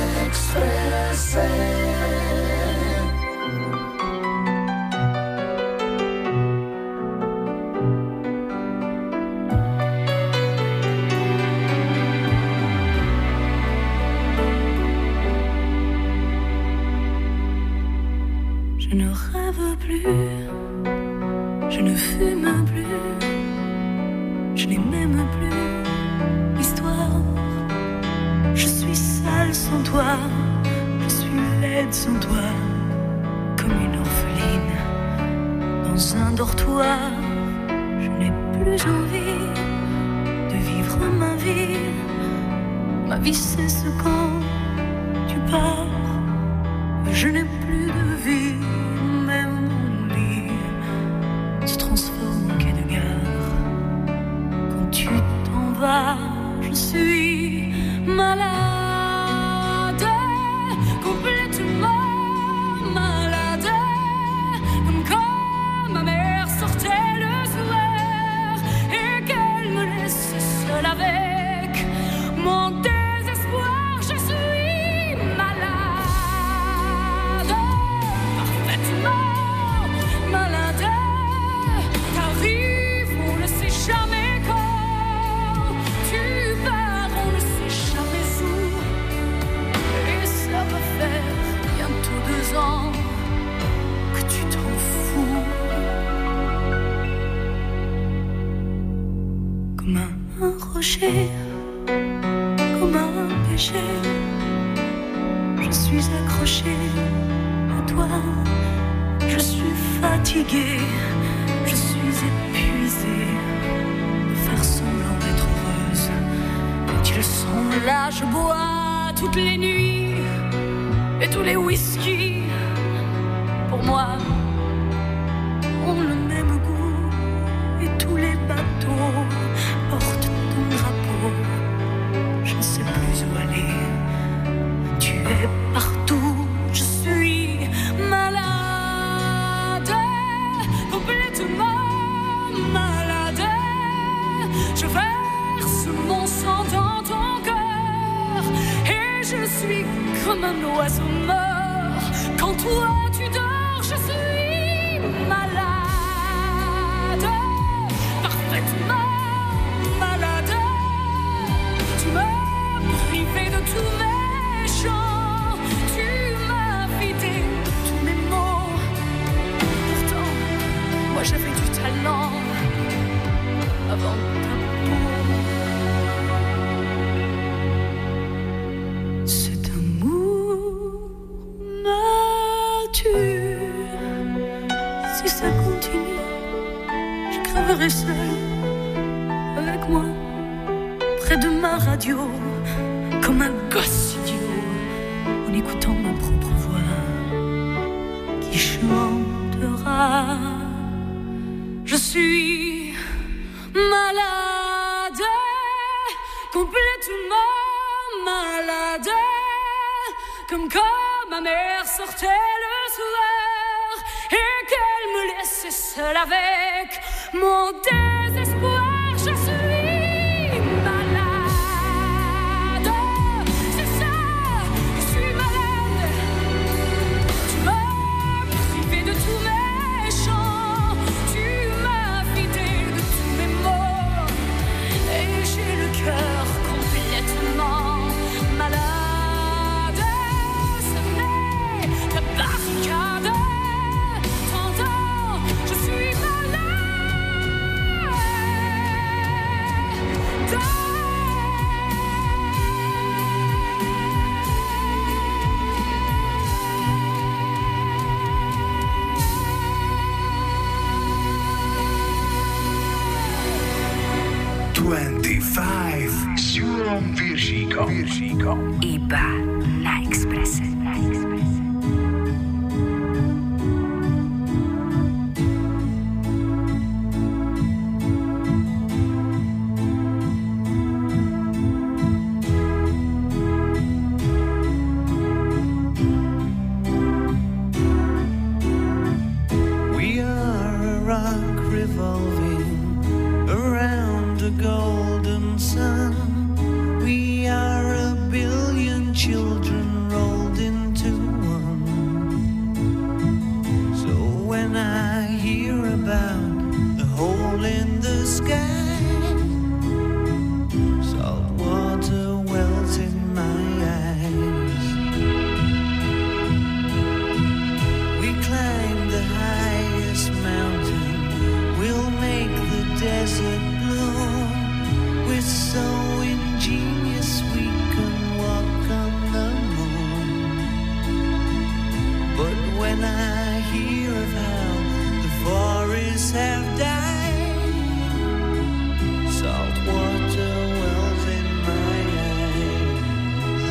Je ne rêve plus, je ne fume plus, je n'ai même plus l'histoire. Je suis seule sans toi, je suis laide sans toi, comme une orpheline dans un dortoir. Je n'ai plus envie de vivre ma vie, ma vie cesse quand tu pars. Je n'ai plus de vie, même mon lit se transforme en quai de gare. Quand tu t'en vas, je suis malade, complètement malade, comme quand ma mère sortait le soir et qu'elle me laisse seule avec mon désespoir. Je suis accrochée comme un péché. Je suis accrochée à toi. Je suis fatiguée, je suis épuisée de faire semblant d'être heureuse. Quand ils sont là, je bois toutes les nuits et tous les whisky. Pour moi, ont le même goût et tous les bateaux portent ton drapeau. Je ne sais plus où aller, tu es partout, je suis malade, complètement malade. Je verse mon sang dans ton cœur et je suis comme un oiseau mort. Quand toi tu dors, je suis malade, parfaitement malade. Tu m'as privé de tous mes chants, tu m'as vidé de tous mes mots. Pourtant, moi j'avais du talent avant ta peau. Cet amour me tue. Si ça continue, je crèverai seule avec moi près de ma radio, comme un gosse idiot, en écoutant ma propre voix qui chantera. Je suis malade, complètement malade, comme quand ma mère sortait le soir et qu'elle me laissait seule avec mon désespoir. Je suis malade, c'est ça, je suis malade. Tu m'as privé de tous mes chants, tu m'as vidé de tous mes mots, et j'ai le cœur complètement malade. Ce n'est la barricade, t'entends, je suis malade. dvadsaťpäť s Júlom Piršíkom. Piršíkom. Iba na Expresse. Na Expresse. We are a rock revolving around a golden sun. We are a billion children rolled into one. So when I hear about the hole in the sky, salt water wells in my eyes. We climb the highest mountain, we'll make the desert bloom. We're so ingenious we can walk on the moon. But when I hear of how the forests have died, salt water wells in my eyes.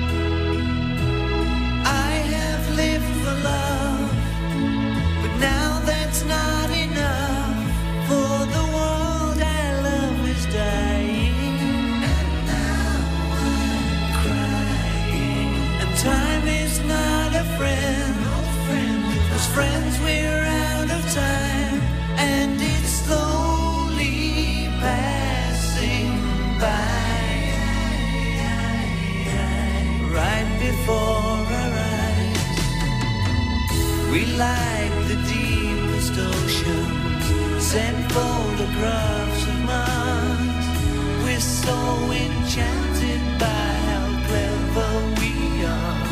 I have lived for love, but now that's not enough. For the world I love is dying, and now I'm crying. And time is not a friend, no friend. As friends we're out of time, and it's slowly passing by, right before our eyes. We like the deepest oceans, send photographs of Mars. We're so enchanted by how clever we are.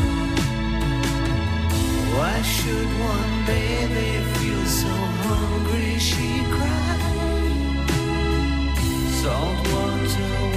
Why should one baby feel so hungry she cried? Salt water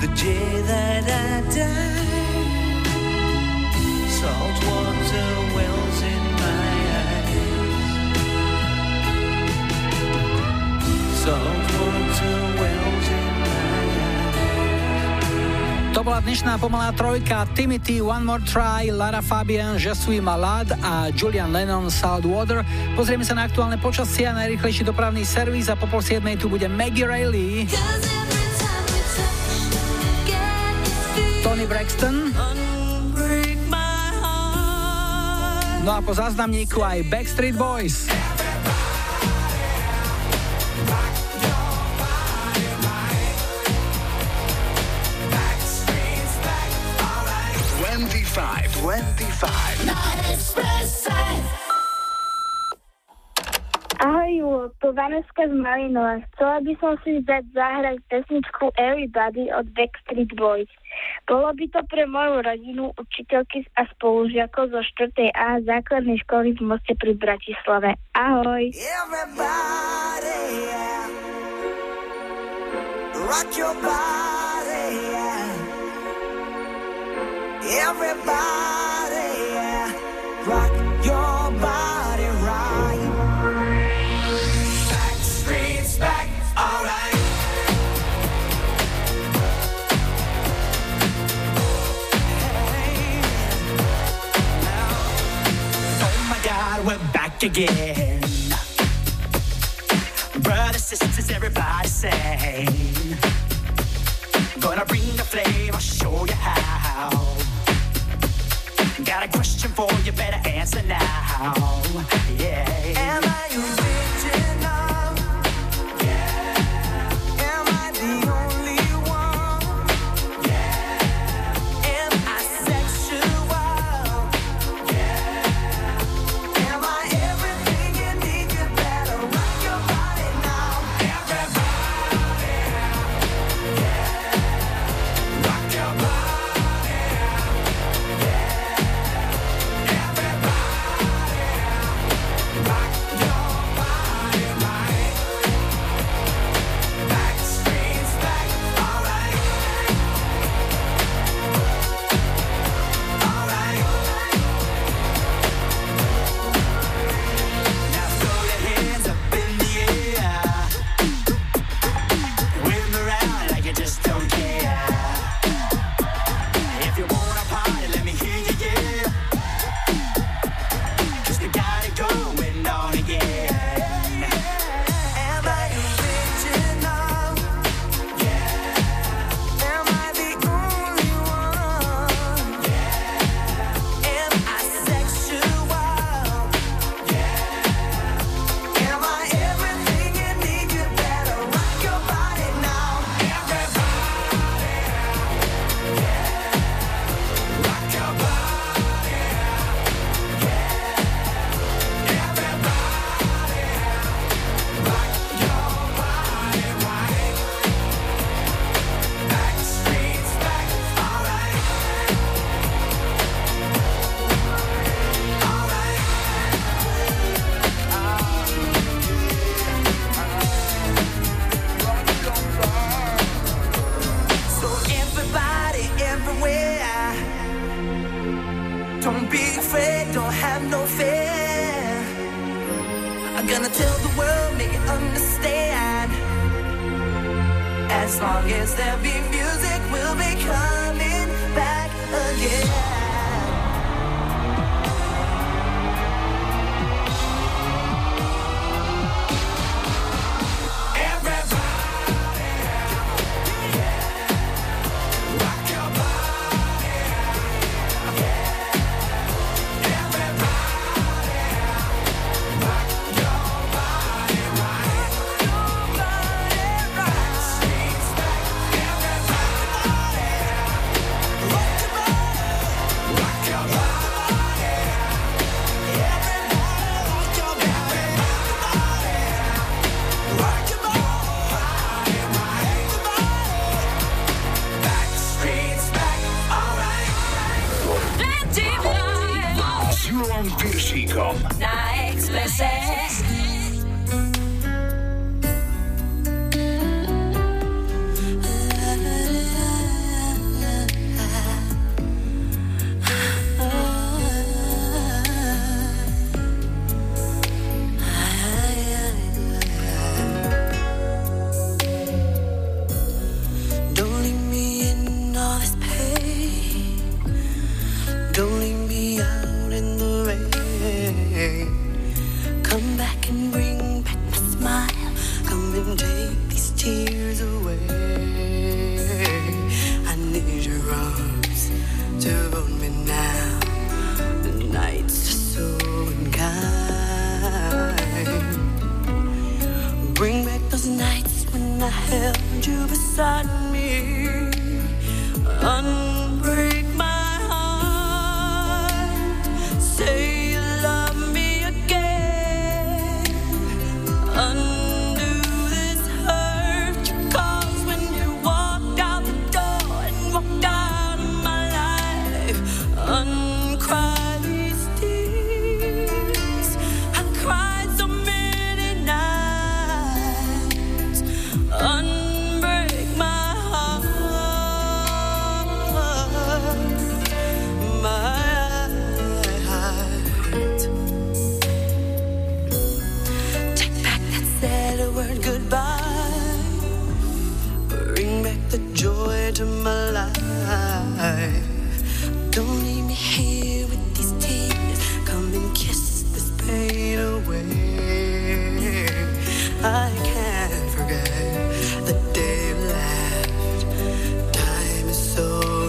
day that I die, salt water wells in my eyes, salt water wells in my eyes. To bola dnešná pomalá trojka. Timothy, One More Try, Lara Fabian, Je suis malade a Julian Lennon, Salt Water. Pozrieme sa na aktuálne počasie a najrýchlejší dopravný servis a po pol siedmej tu bude Maggie Reilly, Tony Braxton, no a po záznamníku aj Backstreet Boys. dvadsaťpäť, dvadsaťpäť Na Expresse. Ahoj Julo, tu Vaneska z Malinova. Chcela by som si dať zahrať pesničku Everybody od Backstreet Boys. Bolo by to pre moju rodinu, učiteľky a spolužiakov zo štvrtej A základnej školy v Moste pri Bratislave. Ahoj. Everybody, yeah. Rock your body, yeah. Everybody, yeah. Rock your body right. Backstreet's back, alright. Oh my God, we're back again. Brothers, sisters, everybody sing. Gonna bring the flame, I'll show you how. Got a question for you, better answer now. Yeah. Am I original? Yeah. Am I the only one? Yeah. Am I sexual? Yeah. Am I everything you need? You better rock your body now. Everybody, yeah. Rock your body. unbreak my heart. Say you love me again. Undo this hurt you caused when you walked out the door and walked out of my life. Uncry these tears. I cried so many nights. Unbreak my heart, my heart. Take back that sad word goodbye. Bring back the joy to my life. Don't leave me here with these tears. Come and kiss this pain away. I can't forget the day you left. Time is so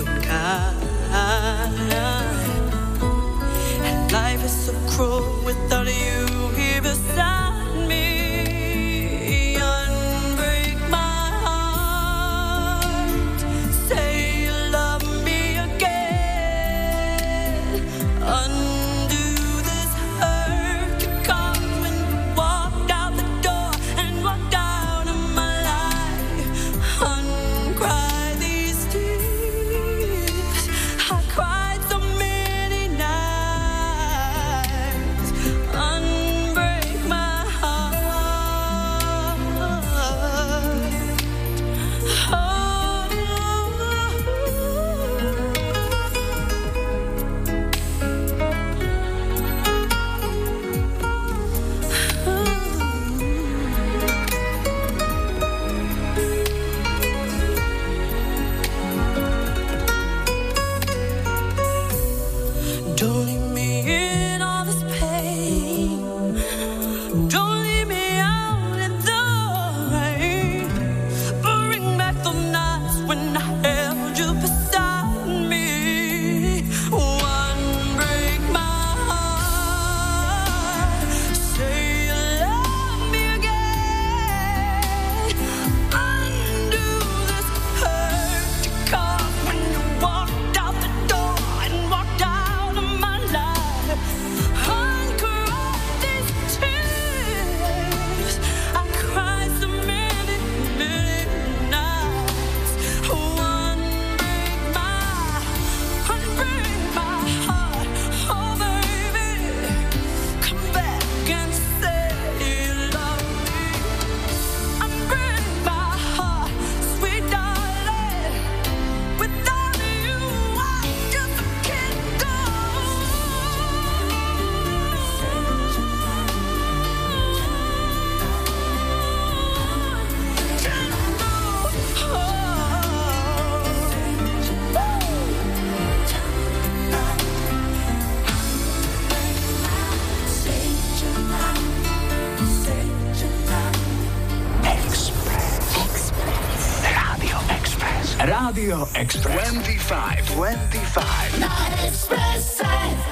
unkind, and life is so cruel without you here beside me. Unbreak my heart. Say you love me again. Undo this hurt you caused when you walked out the door and walked out of my life. Uncry these tears. I cried so many nights. Unbreak my heart. Don't leave me in all this pain. Don't leave me out in the rain. Bring back the nights when I held you beside me. One break my heart. Say you love me again. Undo this hurt you caused when you walked out the door and walked out of my life. Uncry these tears. I cried so many, many nights. One break my, one break my heart. Oh baby, come back and say you love me. Unbreak my heart, sweet darling. Without you, I just can't go. Radio Express. Radio Express. twenty-five. twenty-five. Na Expresse.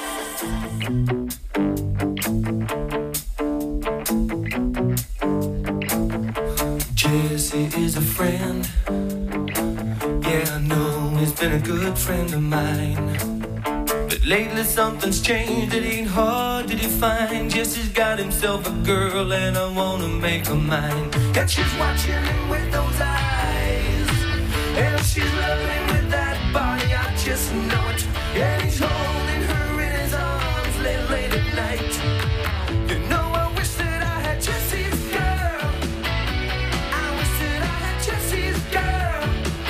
Jesse is a friend. Yeah, I know he's been a good friend of mine. But lately something's changed, it ain't hard to define. Jesse's got himself a girl and I wanna make her mine. And she's watching him with those eyes, and she's loving with that body, I just know it. And he's holding her in his arms late, late at night. You know I wish that I had Jesse's girl. I wish that I had Jesse's girl.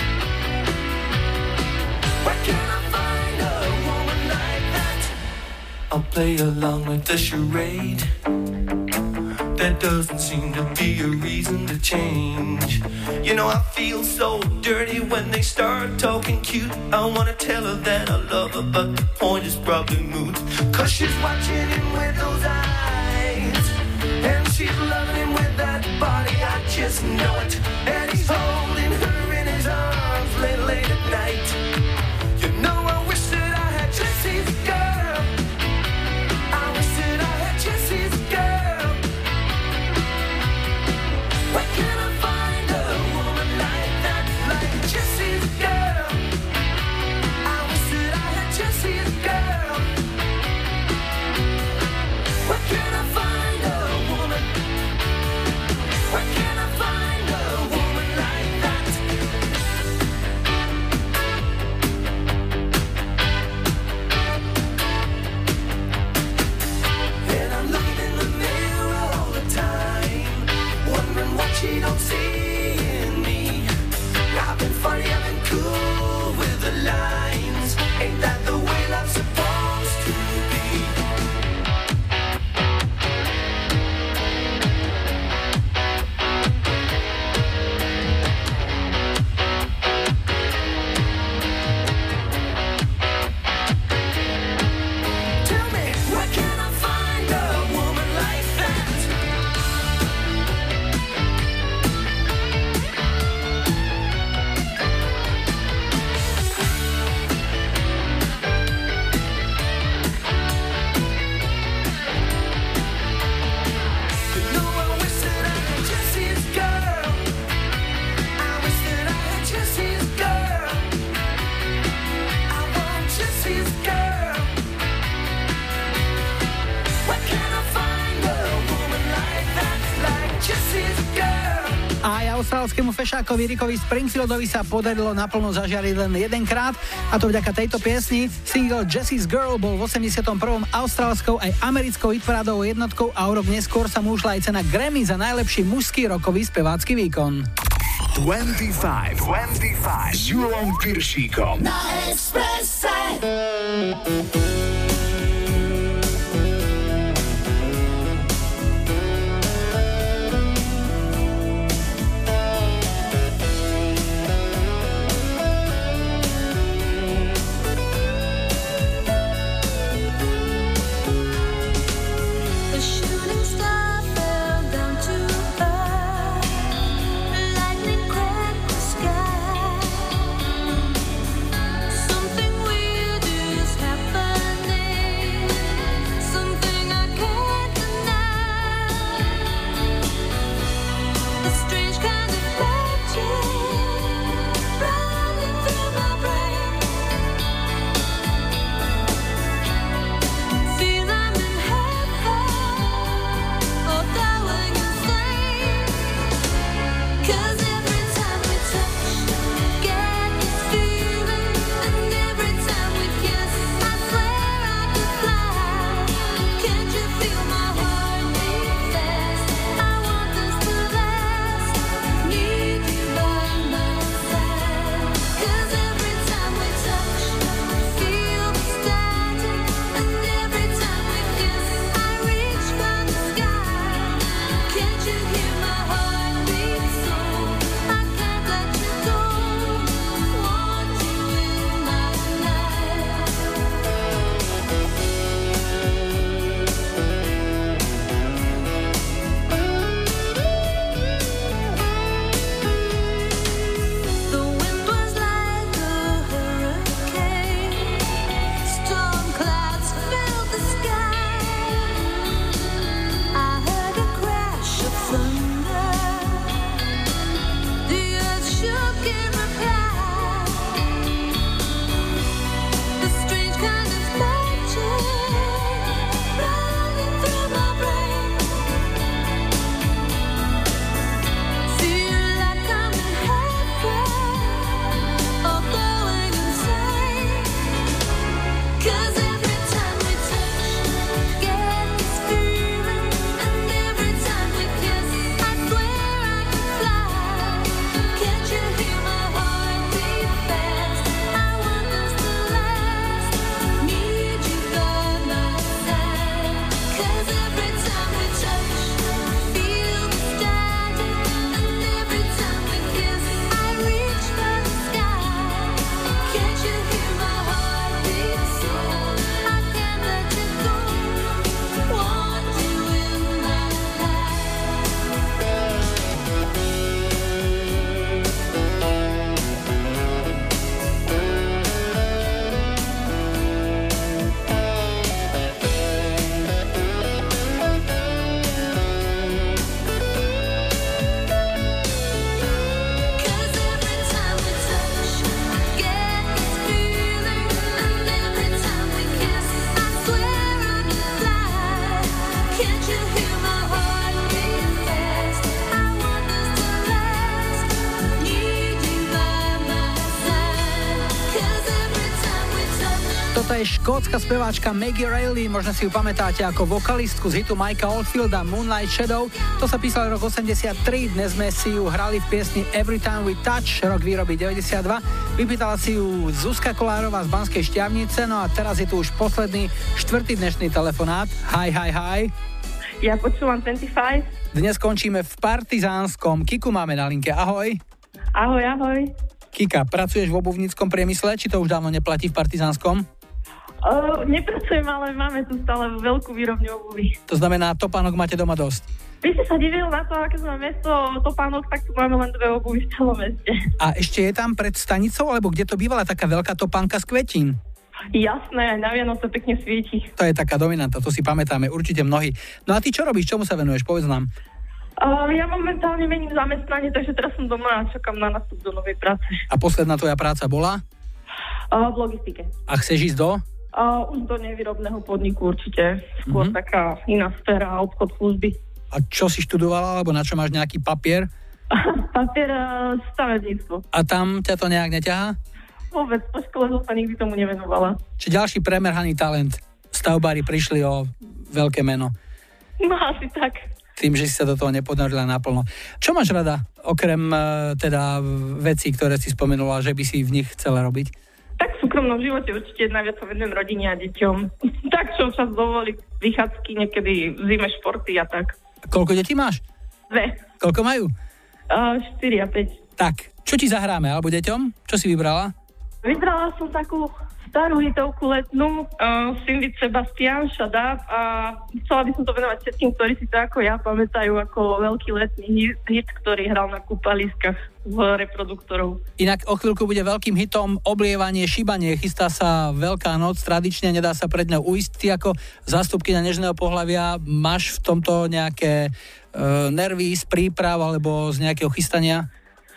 Where can I find a woman like that? I'll play along with the charade. There doesn't seem to be a reason to change. You know I feel so dirty when they start talking cute. I wanna tell her that I love her, but the point is probably moot. Cause she's watching him with those eyes, and she's loving him with that body, I just know it. And he's holding her in his arms late, late at night. You know I wish that I had Jesse's girl. I wish that I had Jesse's girl. Where can I find a woman like that, like Jesse's girl? austrálskému fešákovi Rickovi Springfieldovi sa podarilo naplno zažiariť len jedenkrát, a to vďaka tejto piesni. Single Jessie's Girl bol v osemdesiatom prvom austrálskou aj americkou hitparádovou jednotkou a o rok neskôr sa mu ušla aj cena Grammy za najlepší mužský rockový spevácky výkon. dvadsaťpäť, dvadsaťpäť s Julom Piršíkom na Expresse. Toto je škótska speváčka Maggie Reilly, možno si ju pamätáte ako vokalistku z hitu Mikea Oldfielda Moonlight Shadow. To sa písal rok osemdesiattri, dnes sme si ju hrali v piesni Every Time We Touch, rok výroby deväťdesiatdva. Vypýtala si ju Zuzka Kolárová z Banskej Štiavnice, no a teraz je tu už posledný, štvrtý dnešný telefonát. Hi, hi, hi. Ja počúvam dvadsaťpäť. Dnes končíme v Partizánskom. Kiku máme na linke, ahoj. Ahoj, ahoj. Kika, pracuješ v obuvníckom priemysle, či to už dávno neplatí v Partizánskom? Uh, nepracujem, ale máme tu stále veľkú výrobňu obuvy. To znamená, topánok máte doma dosť? Ty si sa divil na to, aké sme mesto topánok, tak tu máme len dve obuvy v celom meste. A ešte je tam pred stanicou, alebo kde to bývala taká veľká topánka z kvetín? Jasné, na Vianoce pekne svieti. To je taká dominanta, to si pamätáme určite mnohí. No a ty čo robíš, čomu sa venuješ, povedz nám. Uh, ja momentálne mením zamestnanie, takže teraz som doma a čakám na nástup do novej práce. A posledná tvoja práca bola? Uh, v logistike. A chceš ísť do? Uh, už do nevýrobného podniku určite. Skôr mm-hmm. taká iná sféra, obchod, služby. A čo si študovala, alebo na čo máš nejaký papier? Papier a stavebníctvo. A tam ťa to nejak neťahá? Vôbec, po škole som sa nikdy tomu nevenovala. Či ďalší premerhaný talent? Stavbári prišli o veľké meno. No asi tak. Tým, že si sa do toho neponorila naplno. Čo máš rada, okrem teda vecí, ktoré si spomenula, že by si v nich chcela robiť? Tak v súkromnom živote určite najviac sa venujem rodine a deťom. Tak čo čas dovolí, vychádzky, niekedy v zime športy a tak. Koľko detí máš? Dve. Koľko majú? Uh, štyri a päť. Tak, čo ti zahráme, alebo deťom? Čo si vybrala? Vybrala som takú starú hitovku letnú, uh, Cindy Sebastian, Shut Up, a chcela by som to venovať všetkým, ktorí si to ako ja pamätajú ako veľký letný hit, ktorý hral na kúpaliskách v reproduktorov. Inak o chvíľku bude veľkým hitom Oblievanie, šibanie. Chystá sa Veľká noc, tradične nedá sa pred ňou ujsť. Ty ako zástupkyňa nežného pohlavia máš v tomto nejaké uh, nervy z príprav alebo z nejakého chystania?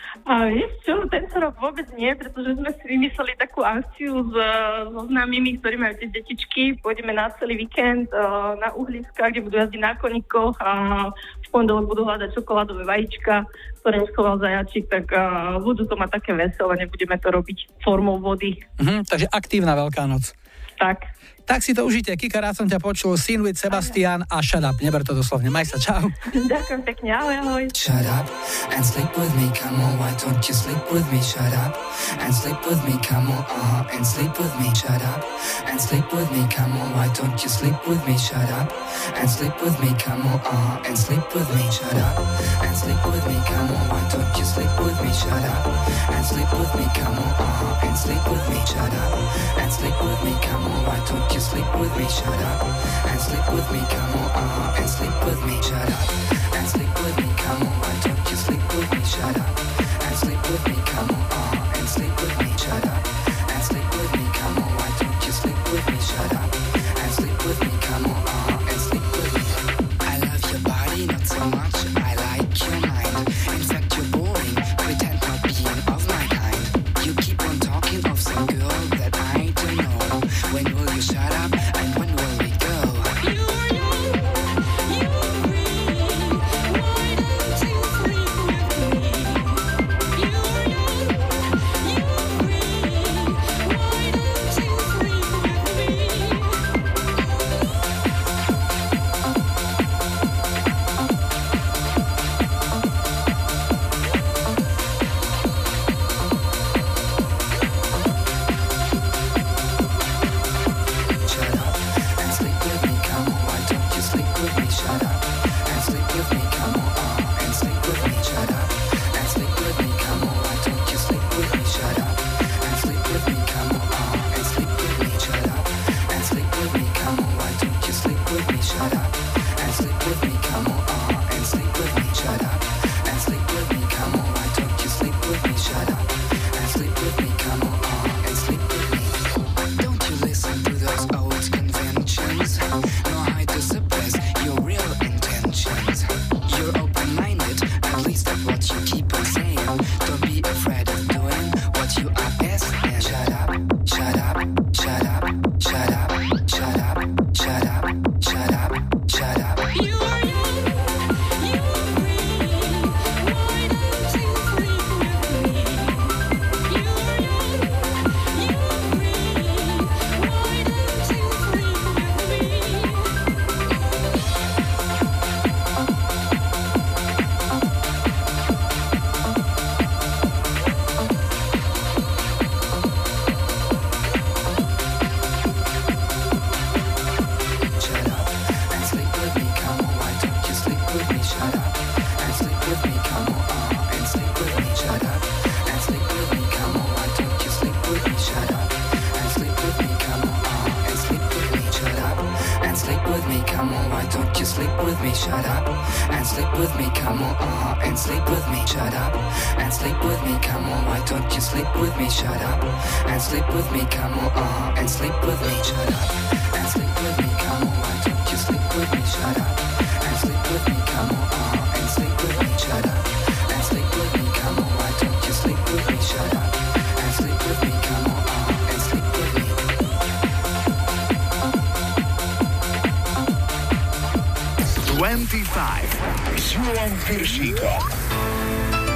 A vieš čo, tento rok vôbec nie, pretože sme si vymysleli takú akciu s, so známymi, ktorí majú tie detičky. Pôjdeme na celý víkend uh, na uhliska, kde budú jazdiť na koníkoch a v pondelok budú hľadať čokoládové vajíčka, ktoré im schoval zajačík, tak uh, budú to mať také veselé, nebudeme to robiť formou vody. Mhm, takže aktívna Veľká noc. Tak. Tak si to užite. Kika, rád som ťa počul. Sin with Sebastian a Shut Up. Neber to doslovne. Maj sa, čau. Ďakujem pekne, ahoj, ahoj. Shut up and sleep with me, come on, why don't you sleep with me? Shut up and sleep with me, come on, uh-huh, and sleep with me. Shut up and sleep with me, come on, why don't you sleep with me? Shut up and sleep with me, come on, uh-huh, and sleep with me. Shut up and sleep with me, come on, why don't you sleep with me? Shut up and sleep with me, come on, uh-huh, and sleep with me. Shut up and sleep with me, come on, why don't you sleep with me? Shut up and sleep with me, come on, uh-huh, and sleep with me. Shut up and sleep with me, come on, why don't you sleep with me? Shut up and sleep with me, come on, uh-huh, and sleep with me. Shut up and sleep with me, come on, why don't you sleep with me? Shut up and sleep with me, come on, uh-huh, and sleep with me. I love your body, not so much, I like your mind. In fact, you're boring, pretend not being of my kind. You keep on talking of some girl that I don't know. When will you shut up and when will we go? You dvadsaťpäť s Julom Piršíkom.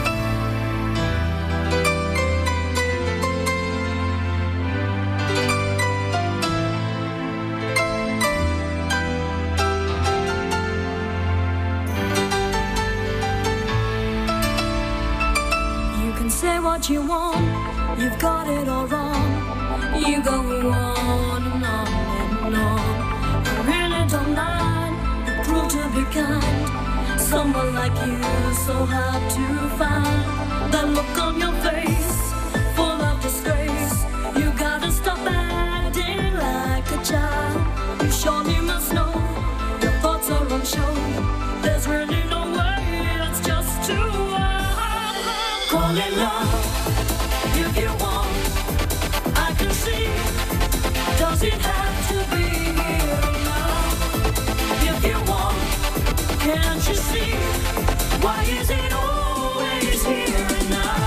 what you want, you've got it all wrong. You go on and on and on. I really don't mind, you're cruel to be kind. Someone like you, so hard to find. That look on your face, full of disgrace. You gotta stop acting like a child. You surely must know your thoughts are on show. There's really no way, it's just too wild. Call it love if you want. I can see. Does it have to be here now? If you want, can't you see? Why is it always here and now?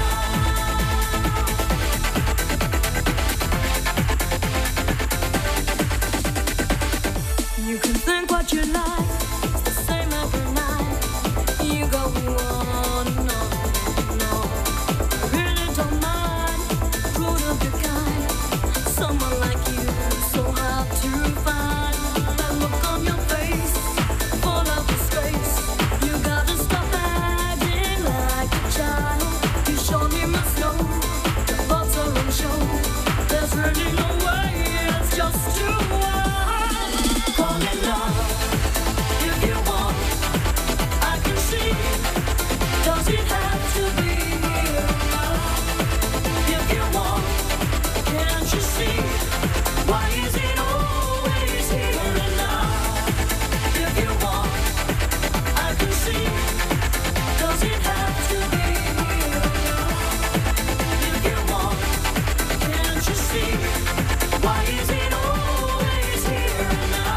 You can think what you like, it's the same every night. You go on and on and on. I really don't mind, cruel to be kind. Someone like you, so hard to find. That look on your face, full of disgrace. You gotta stop acting like a child. You surely must know your thoughts are on show. There's really no way, it's just too wild. Call it love if you want. I can see. Does it have to be here now? If you want, can't you see? Why is it always here and now? If you want, I can see. Does it have to be here now? If you want, can't you see? Why is it always here and now?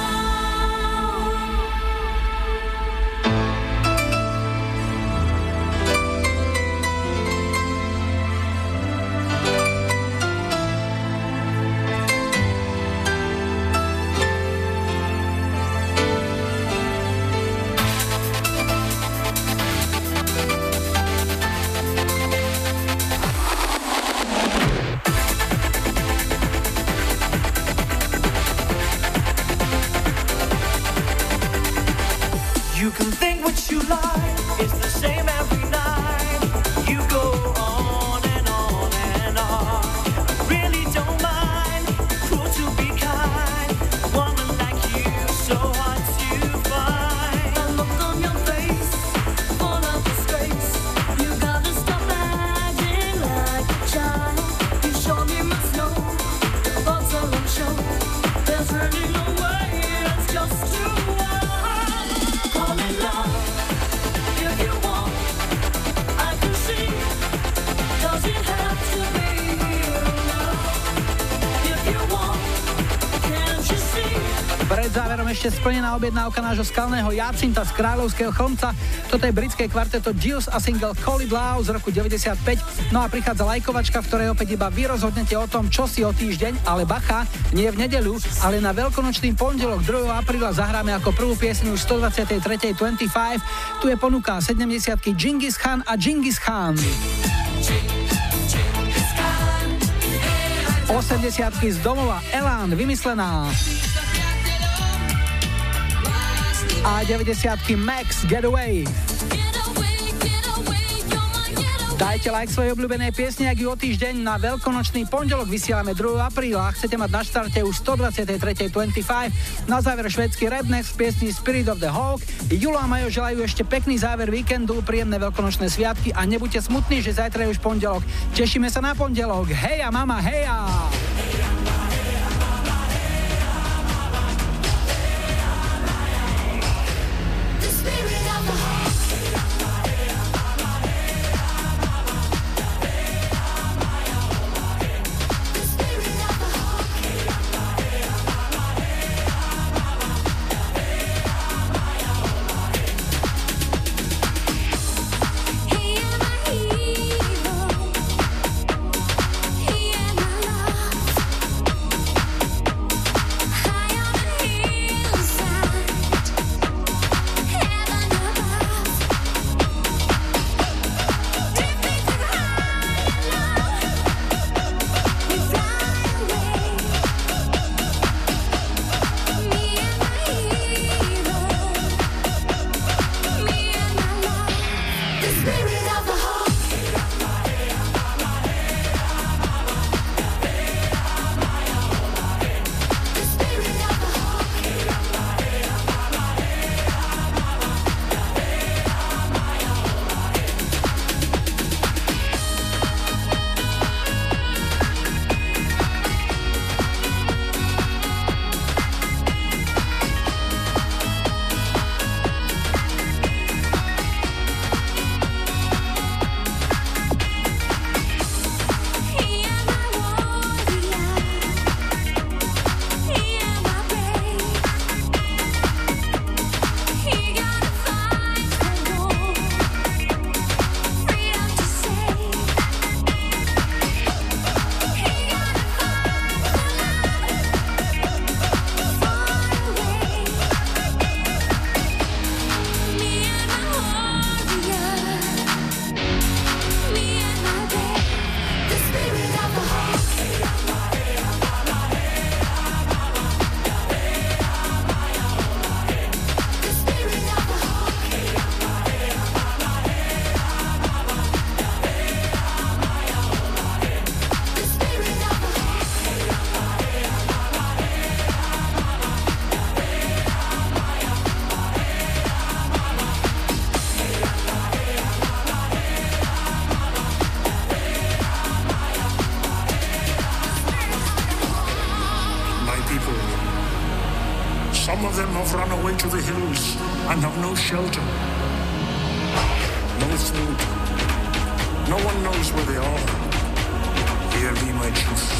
You can think what you like, it's the same every night. You go on and on and on. I really don't mind, cruel to be kind. A woman like you, so hard to find. That look on your face, full of disgrace. You gotta stop acting like a child. You surely must know your thoughts are on show. There's really no way, it's just too wild. Call it love if you want. I can see. Does it have to be here now? If you want, can't you see? Pred záverom ešte splnená objednávka nášho skalného Jacinta z Kráľovského Chlmca. Toto je britské kvarteto Juice a single Call It Love z roku deväťdesiatpäť. No a prichádza lajkovačka, v ktorej opäť iba vy rozhodnete o tom, čo si o týždeň, ale bacha, nie v nedeľu, ale na veľkonočný pondelok druhého apríla zahráme ako prvú pieseň už stodvadsaťtri dvadsaťpäť. Tu je ponuka sedemdesiatky Džingis Khan a Džingis Khan. osemdesiatky z domova Elán, Vymyslená. A deväťdesiatky Max, Getaway. Dajte like svojej obľúbenej piesne, ak ju o týždeň na veľkonočný pondelok vysielame druhého apríla. Chcete mať na štarte už stodvadsaťtri dvadsaťpäť. Na záver švédsky Redneck z piesni Spirit of the Hawk. Julo a Majo želajú ešte pekný záver víkendu, príjemné veľkonočné sviatky a nebuďte smutní, že zajtra je už pondelok. Tešíme sa na pondelok. Heja mama, heja! He am my hero. He am my love. Some of them have run away to the hills and have no shelter, no food. No one knows where they are. Hear me, my chief.